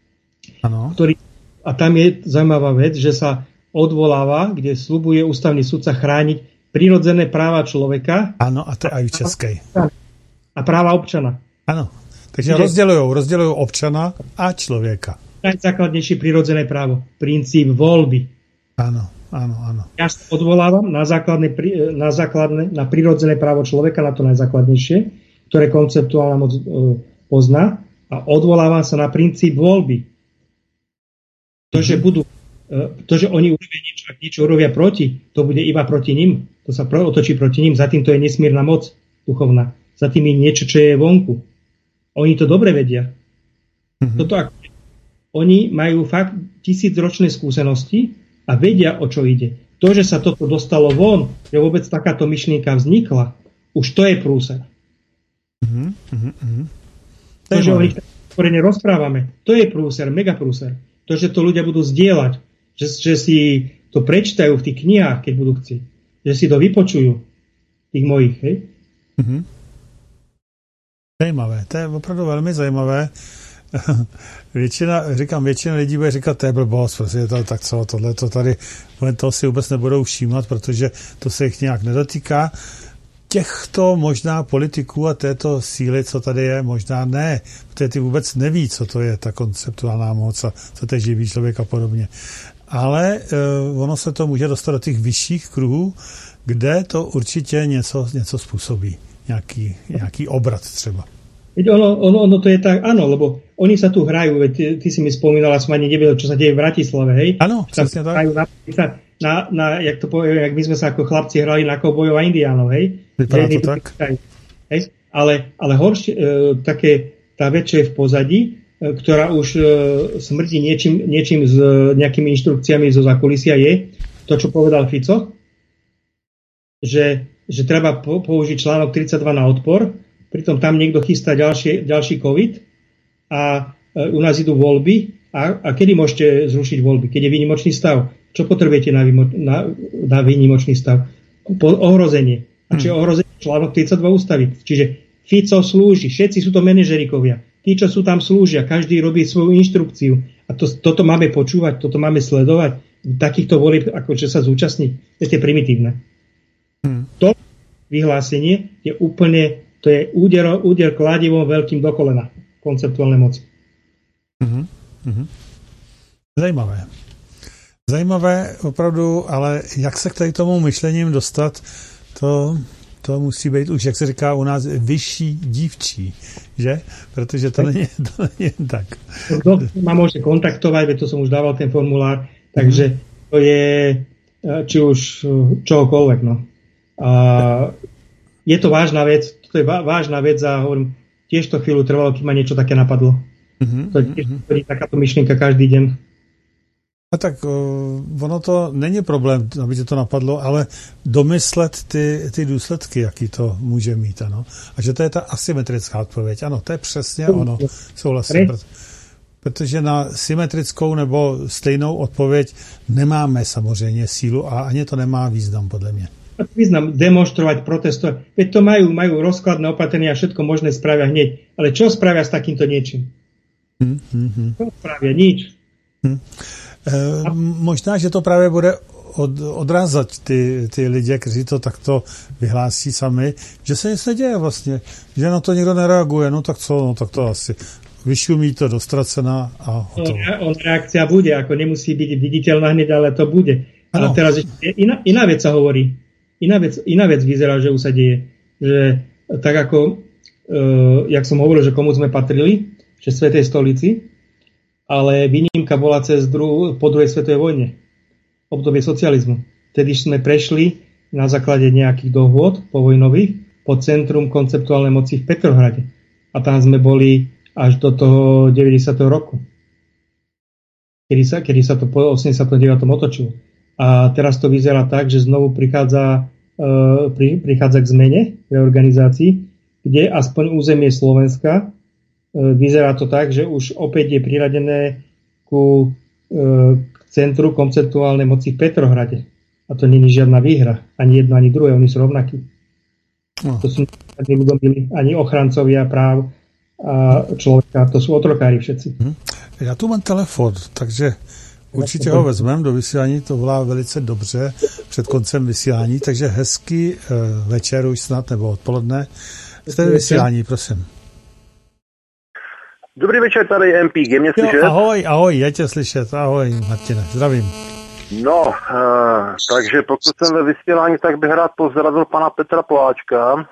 a tam je zaujímavá vec, že sa odvoláva, kde sľubuje ústavný sudca chrániť prirodzené práva človeka. Áno, a to je aj v českej. A práva občana. Áno, takže rozdeľujú občana a človeka. Najzákladnejšie prirodzené právo. Princíp voľby. Áno. Ja sa odvolávam na prirodzené právo človeka, na to najzákladnejšie, ktoré konceptuálna moc pozná, a odvolávam sa na princíp voľby. To, že oni urobia niečo, ak niečo urobia proti, to bude iba proti nim. To sa otočí proti nim. Za tým to je nesmierna moc duchovná. Za tým je niečo, čo je vonku. Oni to dobre vedia. Oni majú fakt 1000-ročné skúsenosti a vedia, o čo ide. To, že sa toto dostalo von, že vôbec takáto myšlienka vznikla, už to je prúser. To, že o nich otvorene rozprávame, to je prúser, megaprúser. To, že to ľudia budú zdieľať, že si to prečítajú v tých knihách, keď budú chcieť, že si to vypočujú, tých mojich, hej? Zajímavé, to je opravdu velmi zajímavé. Většina lidí bude říkat, to je blbost, prostě tak co, tohle to tady, toho si vůbec nebudou všímat, protože to se jich nějak nedotýká. Těchto možná politiků a této síly, co tady je, možná ne, protože ty vůbec neví, co to je ta konceptuální moc a co to je živý člověk a podobně. Ale ono se to může dostat do těch vyšších kruhů, kde to určitě něco způsobí. Nějaký obrat třeba. Veď ono to je tak, áno, lebo oni sa tu hrajú, veď ty si mi spomínala, som ani nevedel, čo sa deje v Bratislave, hej? Áno, presne tak. Hrajú jak to poviem, jak my sme sa ako chlapci hrali na kovbojov a indiánov, hej? Vypadá to tak. Hej? Ale horšie, tá vec, čo je v pozadí, ktorá už smrdí niečím s nejakými inštrukciami zo zákulisia, je to, čo povedal Fico, že treba použiť článok 32 na odpor. Pritom tam niekto chystá ďalší COVID a u nás idú voľby. A kedy môžete zrušiť voľby? Keď je výnimočný stav. Čo potrebujete na výnimočný stav? Ohrozenie. A čo je ohrozenie? Článok 32 ústavy. Čiže Fico slúži. Všetci sú to manažerikovia. Tí, čo sú tam, slúžia. Každý robí svoju inštrukciu. A toto máme počúvať, toto máme sledovať. Takýchto volieb, ako čo sa zúčastniť. To je primitívne. To vyhlásenie je úplne, to je úder kladivom veľkým do kolena konceptuálnej moci. Zajímavé opravdu, ale jak se k tady tomu myšlením dostat, to to musí být už, jak se říká u nás, vyšší dívčí, že? Protože to není jen tak. Kto ma môže kontaktovať, veď to som už dával ten formulár, takže to je či už čohokoľvek. No. A je to vážna vec, to je vážna vec a hovorím, tiež to chvíľu trvalo, kým ma niečo také napadlo. To je tiež takáto myšlienka každý deň. A tak ono to není problém, aby tě to napadlo, ale domyslet ty důsledky, jaký to může mít, ano. A že to je ta asymetrická odpověď. Ano, to je přesně ono, souhlasím. Protože na symetrickou nebo stejnou odpověď nemáme samozřejmě sílu a ani to nemá význam, podle mě. Význam demonstrovať, protestovať. Veď to majú rozkladné opatrenia a všetko možné spravia hneď. Ale čo spravia s takýmto niečím? Čo spravia? Nič. Možná, že to právě bude odrázat ty lidi, kteří to takto vyhlásí sami, že se nic neděje vlastně, že na to nikdo nereaguje, no tak co, no tak to asi vyšumí to do ztracena a hotovo. Reakcia bude, ako nemusí byť viditeľná hneď, ale to bude. Ale teraz ešte iná vec sa hovorí. Iná vec vyzerá, že už sa deje. Že tak ako, jak som hovoril, že komu sme patrili, že Svätej stolici, ale výnimka bola po druhej svetovej vojne, obdobie socializmu. Vtedy sme prešli na základe nejakých dohôd povojnových pod centrum konceptuálnej moci v Petrohrade. A tam sme boli až do toho 90. roku. Kedy sa to po 89. otočilo. A teraz to vyzerá tak, že znovu prichádza k zmene reorganizácii, kde aspoň územie Slovenska vyzerá to tak, že už opäť je priradené k centru konceptuálnej moci v Petrohrade. A to nie je žiadna výhra. Ani jedno, ani druhé. Oni sú rovnakí. To sú ani ochrancovia práv a člověka. To jsou otrokári všetci. Já tu mám telefon, takže určitě ho vezmeme do vysílání. To volá velice dobře před koncem vysílání, takže hezký večer už snad nebo odpoledne. Jste vysílání, prosím. Dobrý večer, tady je MPG, mě slyšet? Ahoj, je tě slyšet, ahoj Martine, zdravím. No, takže pokud jsem ve vysílání, tak bych rád pozdravil pana Petra Poláčka.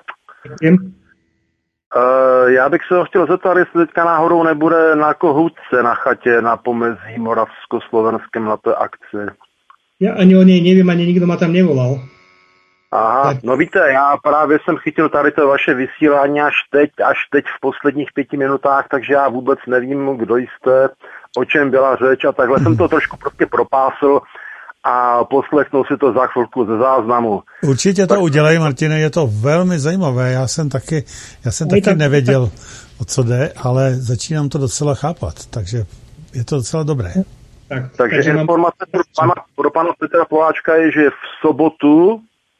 Já bych se ho chtěl zeptat, jestli teďka náhodou nebude na Kohútce na chatě na pomezí Moravsko-Slovenském na té akci. Já ani o něj nevím, ani nikdo ma tam nevolal. Aha, tak. No víte, já právě jsem chytil tady to vaše vysílání až teď v posledních 5 minutách, takže já vůbec nevím, kdo jste, o čem byla řeč a takhle jsem to trošku prostě propásl a poslechnu si to za chvilku ze záznamu. Určitě to udělej, Martine, je to velmi zajímavé, já jsem taky nevěděl, o co jde, ale začínám to docela chápat, takže je to docela dobré. Takže informace pro pana Petra Poláčka je, že v sobotu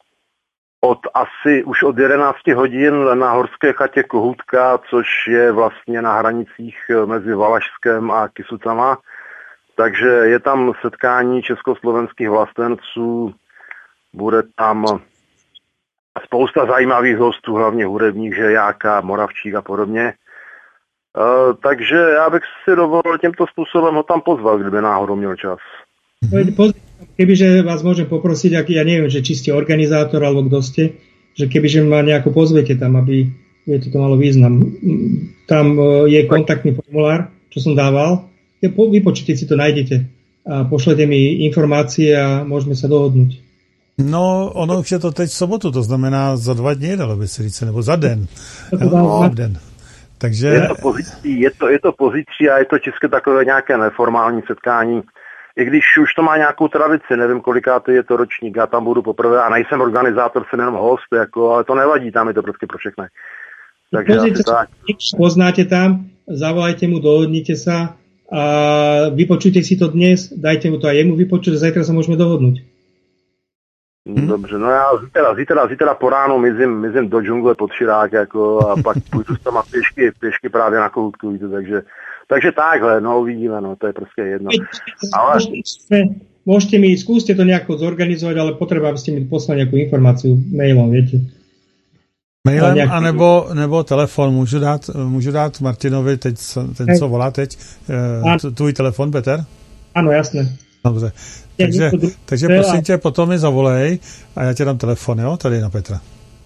už od 11 hodin na horské chatě Kohútka, což je vlastně na hranicích mezi Valašskem a Kysucama. Takže je tam setkání československých vlastenců, bude tam spousta zajímavých hostů, hlavně hudebních, že Jáka, Moravčík a podobně. Takže já bych si dovolil tímto způsobem ho tam pozval, kdyby náhodou měl čas. Kebyže vás môžem poprosiť, ja neviem, že či ste organizátor alebo kto ste, že kebyže ma nejako pozvete tam, aby to malo význam. Tam je kontaktný formulár, čo som dával. Vypočujte si to, nájdete a pošlete mi informácie a môžeme sa dohodnúť. No, ono už je to teď v sobotu, to znamená za 2 dny, dalo by se říct, nebo za den. Den. Takže... Je to pozítří a je to české takové nějaké neformální setkání. I když už to má nějakou tradici, nevím, kolikátý je to ročník, já tam budu poprvé a nejsem organizátor, jsem jenom host, ale to nevadí, tam je to prostě pro všechny. Takže asi tak. Poznáte tam, zavolajte mu, dohodnite sa a vypočujte si to dnes, dajte mu to aj jemu vypočuť a zajtra sa môžeme dohodnúť. Dobře, no já zítra po ránu mizím do džungle pod Širák a pak půjdu tam pěšky právě na Kohútku, víte, takže takhle, no uvidíme, no to je prostě jedno. Ale... Skúste to nejako zorganizovať, ale potrebujem, aby ste mi poslali nejakú informáciu mailom, viete. Mailem anebo telefon. Můžu dát Martinovi ten, co volá teď, tvůj telefon, Peter? Ano, jasné. Dobře. Takže prosím tě, potom mi zavolej a já ti dám telefon, jo, tady na Petra.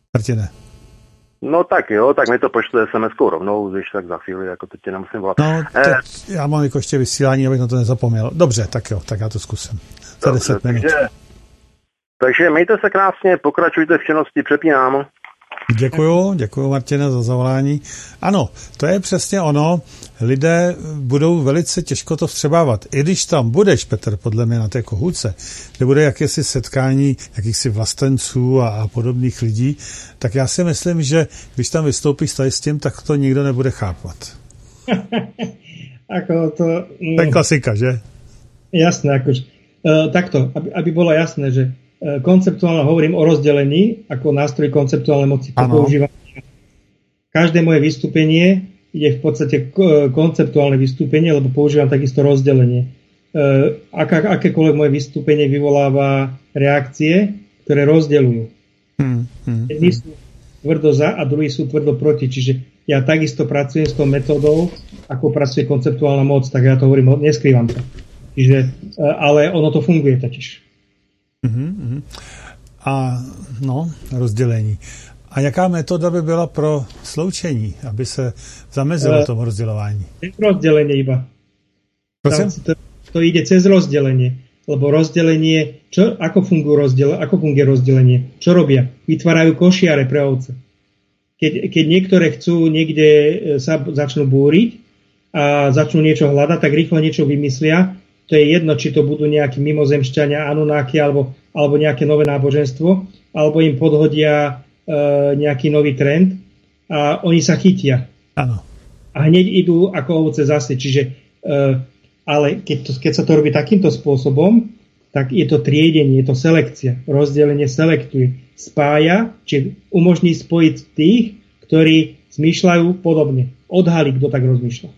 Martine. No tak jo, tak mi to pošle SMS-kou rovnou, když tak za chvíli, jako teď tě nemusím volat. No, já mám jako ještě vysílání, abych na to nezapomněl. Dobře, tak jo, tak já to zkusím. Za 10 minut. Takže mějte se krásně, pokračujte v činnosti, přepínám. Děkuju Martine za zavolání. Ano, to je přesně ono. Lidé budou velice těžko to vstřebávat. I když tam budeš, Petr, podle mě na té Kohůtce, kde bude jakési setkání jakýchsi vlastenců a podobných lidí, tak já si myslím, že když tam vystoupíš tady s tím, tak to nikdo nebude chápat. To je klasika, že? Jasné, akože. Takto, aby bolo jasné, že konceptuálne hovorím o rozdelení ako nástroj konceptuálnej moci. Používam. Každé moje vystúpenie je v podstate konceptuálne vystúpenie, lebo používam takisto rozdelenie. Akékoľvek moje vystúpenie vyvoláva reakcie, ktoré rozdeľujú. Jedni sú tvrdo za a druhí sú tvrdo proti. Čiže ja takisto pracujem s tou metódou, ako pracuje konceptuálna moc, tak ja to hovorím, neskrývam to. Čiže, ale ono to funguje totiž. A no, rozdělení. A jaká metoda by byla pro sloučení, aby se zamezilo tomu rozdělování? Rozdělenie iba. To ide cez rozdelenie. Lebo rozdelenie, ako funguje rozdelenie? Čo robia? Vytvárajú košiare pre ovce. Keď niektoré chcú niekde sa začnú búriť a začnú niečo hľadať, tak rýchlo niečo vymyslia. To je jedno, či to budú nejakí mimozemšťania, Anunnaki alebo nejaké nové náboženstvo, alebo im podhodia nejaký nový trend a oni sa chytia. Áno. A hneď idú ako ovce zase. Čiže, ale keď sa to robí takýmto spôsobom, tak je to triedenie, je to selekcia. Rozdelenie selektuje. Spája, či umožní spojiť tých, ktorí zmýšľajú podobne. Odhalí, kto tak rozmýšľa.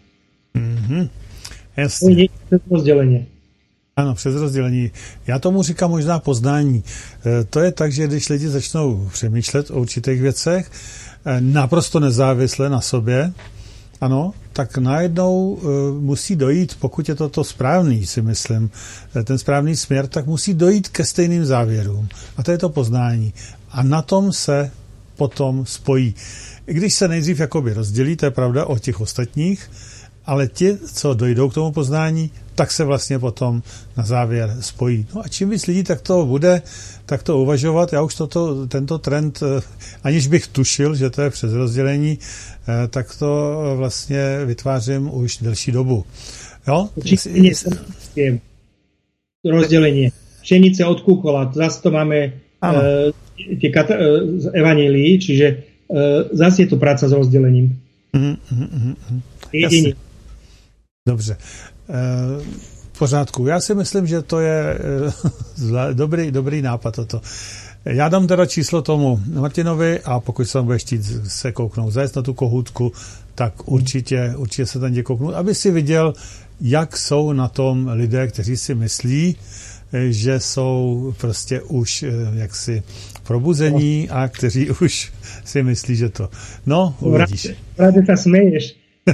Jasně. Přes rozdělení. Ano, přes rozdělení. Já tomu říkám možná poznání. To je tak, že když lidi začnou přemýšlet o určitých věcech, naprosto nezávisle na sobě, ano, tak najednou musí dojít, pokud je to správný, si myslím, ten správný směr, tak musí dojít ke stejným závěrům. A to je to poznání. A na tom se potom spojí. I když se nejdřív jakoby rozdělí, to je pravda, od těch ostatních, ale ti, co dojdou k tomu poznání, tak se vlastně potom na závěr spojí. No a čím víc lidí tak to bude, tak to uvažovat. Já už tento trend, aniž bych tušil, že to je přes rozdělení, tak to vlastně vytvářím už delší dobu. Jo? Rozdělení. Pšenice od kukola. Zase to máme z evanílií, čiže zase je to práca s rozdelením. Jediný. Dobře. V pořádku. Já si myslím, že to je dobrý nápad toto. Já dám teda číslo tomu Martinovi a pokud se tam bude chtít se kouknout, zajet na tu Kohůtku, tak určitě se tam jde kouknout, aby si viděl, jak jsou na tom lidé, kteří si myslí, že jsou prostě už jaksi probuzení a kteří už si myslí, že to. No, uvidíš. Rádi se smeješ.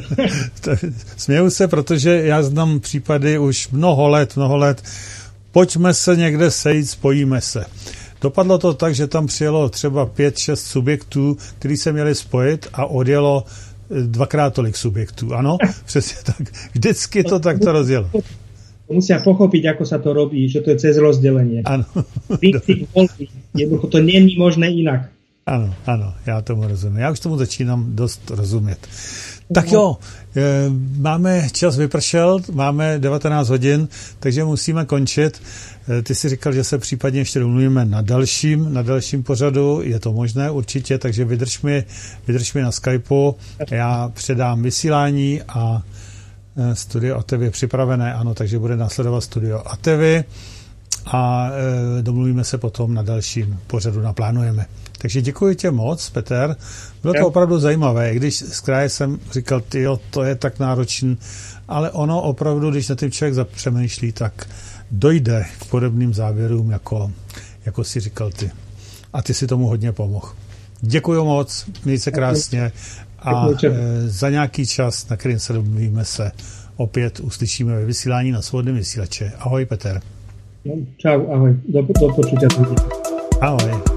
Směju se, protože já znám případy už mnoho let. Pojďme se někde sejít, spojíme se. Dopadlo to tak, že tam přijelo třeba 5-6 subjektů, kteří se měli spojit a odjelo 2x tolik subjektů. Ano, přesně tak. Vždycky to takto rozjelo. Musia pochopiť, ako sa to robí, že to je cez rozdelenie. Áno. Jednoducho to není možné inak. Ano, já tomu rozumím. Já už tomu začínám dost rozumět. Tak jo, máme čas vypršel, máme 19 hodin, takže musíme končit. Ty si říkal, že se případně ještě domluvíme na dalším pořadu, je to možné určitě, takže vydrž mi na Skypeu, já předám vysílání a Studio Atevy je připravené, ano, takže bude následovat Studio Atevy a domluvíme se potom na dalším pořadu, naplánujeme. Takže děkuji tě moc, Petr. Bylo to opravdu zajímavé, když z kraje jsem říkal, tyjo, to je tak náročný, ale ono opravdu, když na tím člověk zapřemýšlí, tak dojde k podobným závěrům, jako si říkal ty. A ty si tomu hodně pomohl. Děkuji moc, měj se krásně a za nějaký čas, na kterým se domluvíme, se opět uslyšíme ve vysílání na Svobodném vysílače. Ahoj, Petr. Čau, ahoj. Do počutia. Ahoj.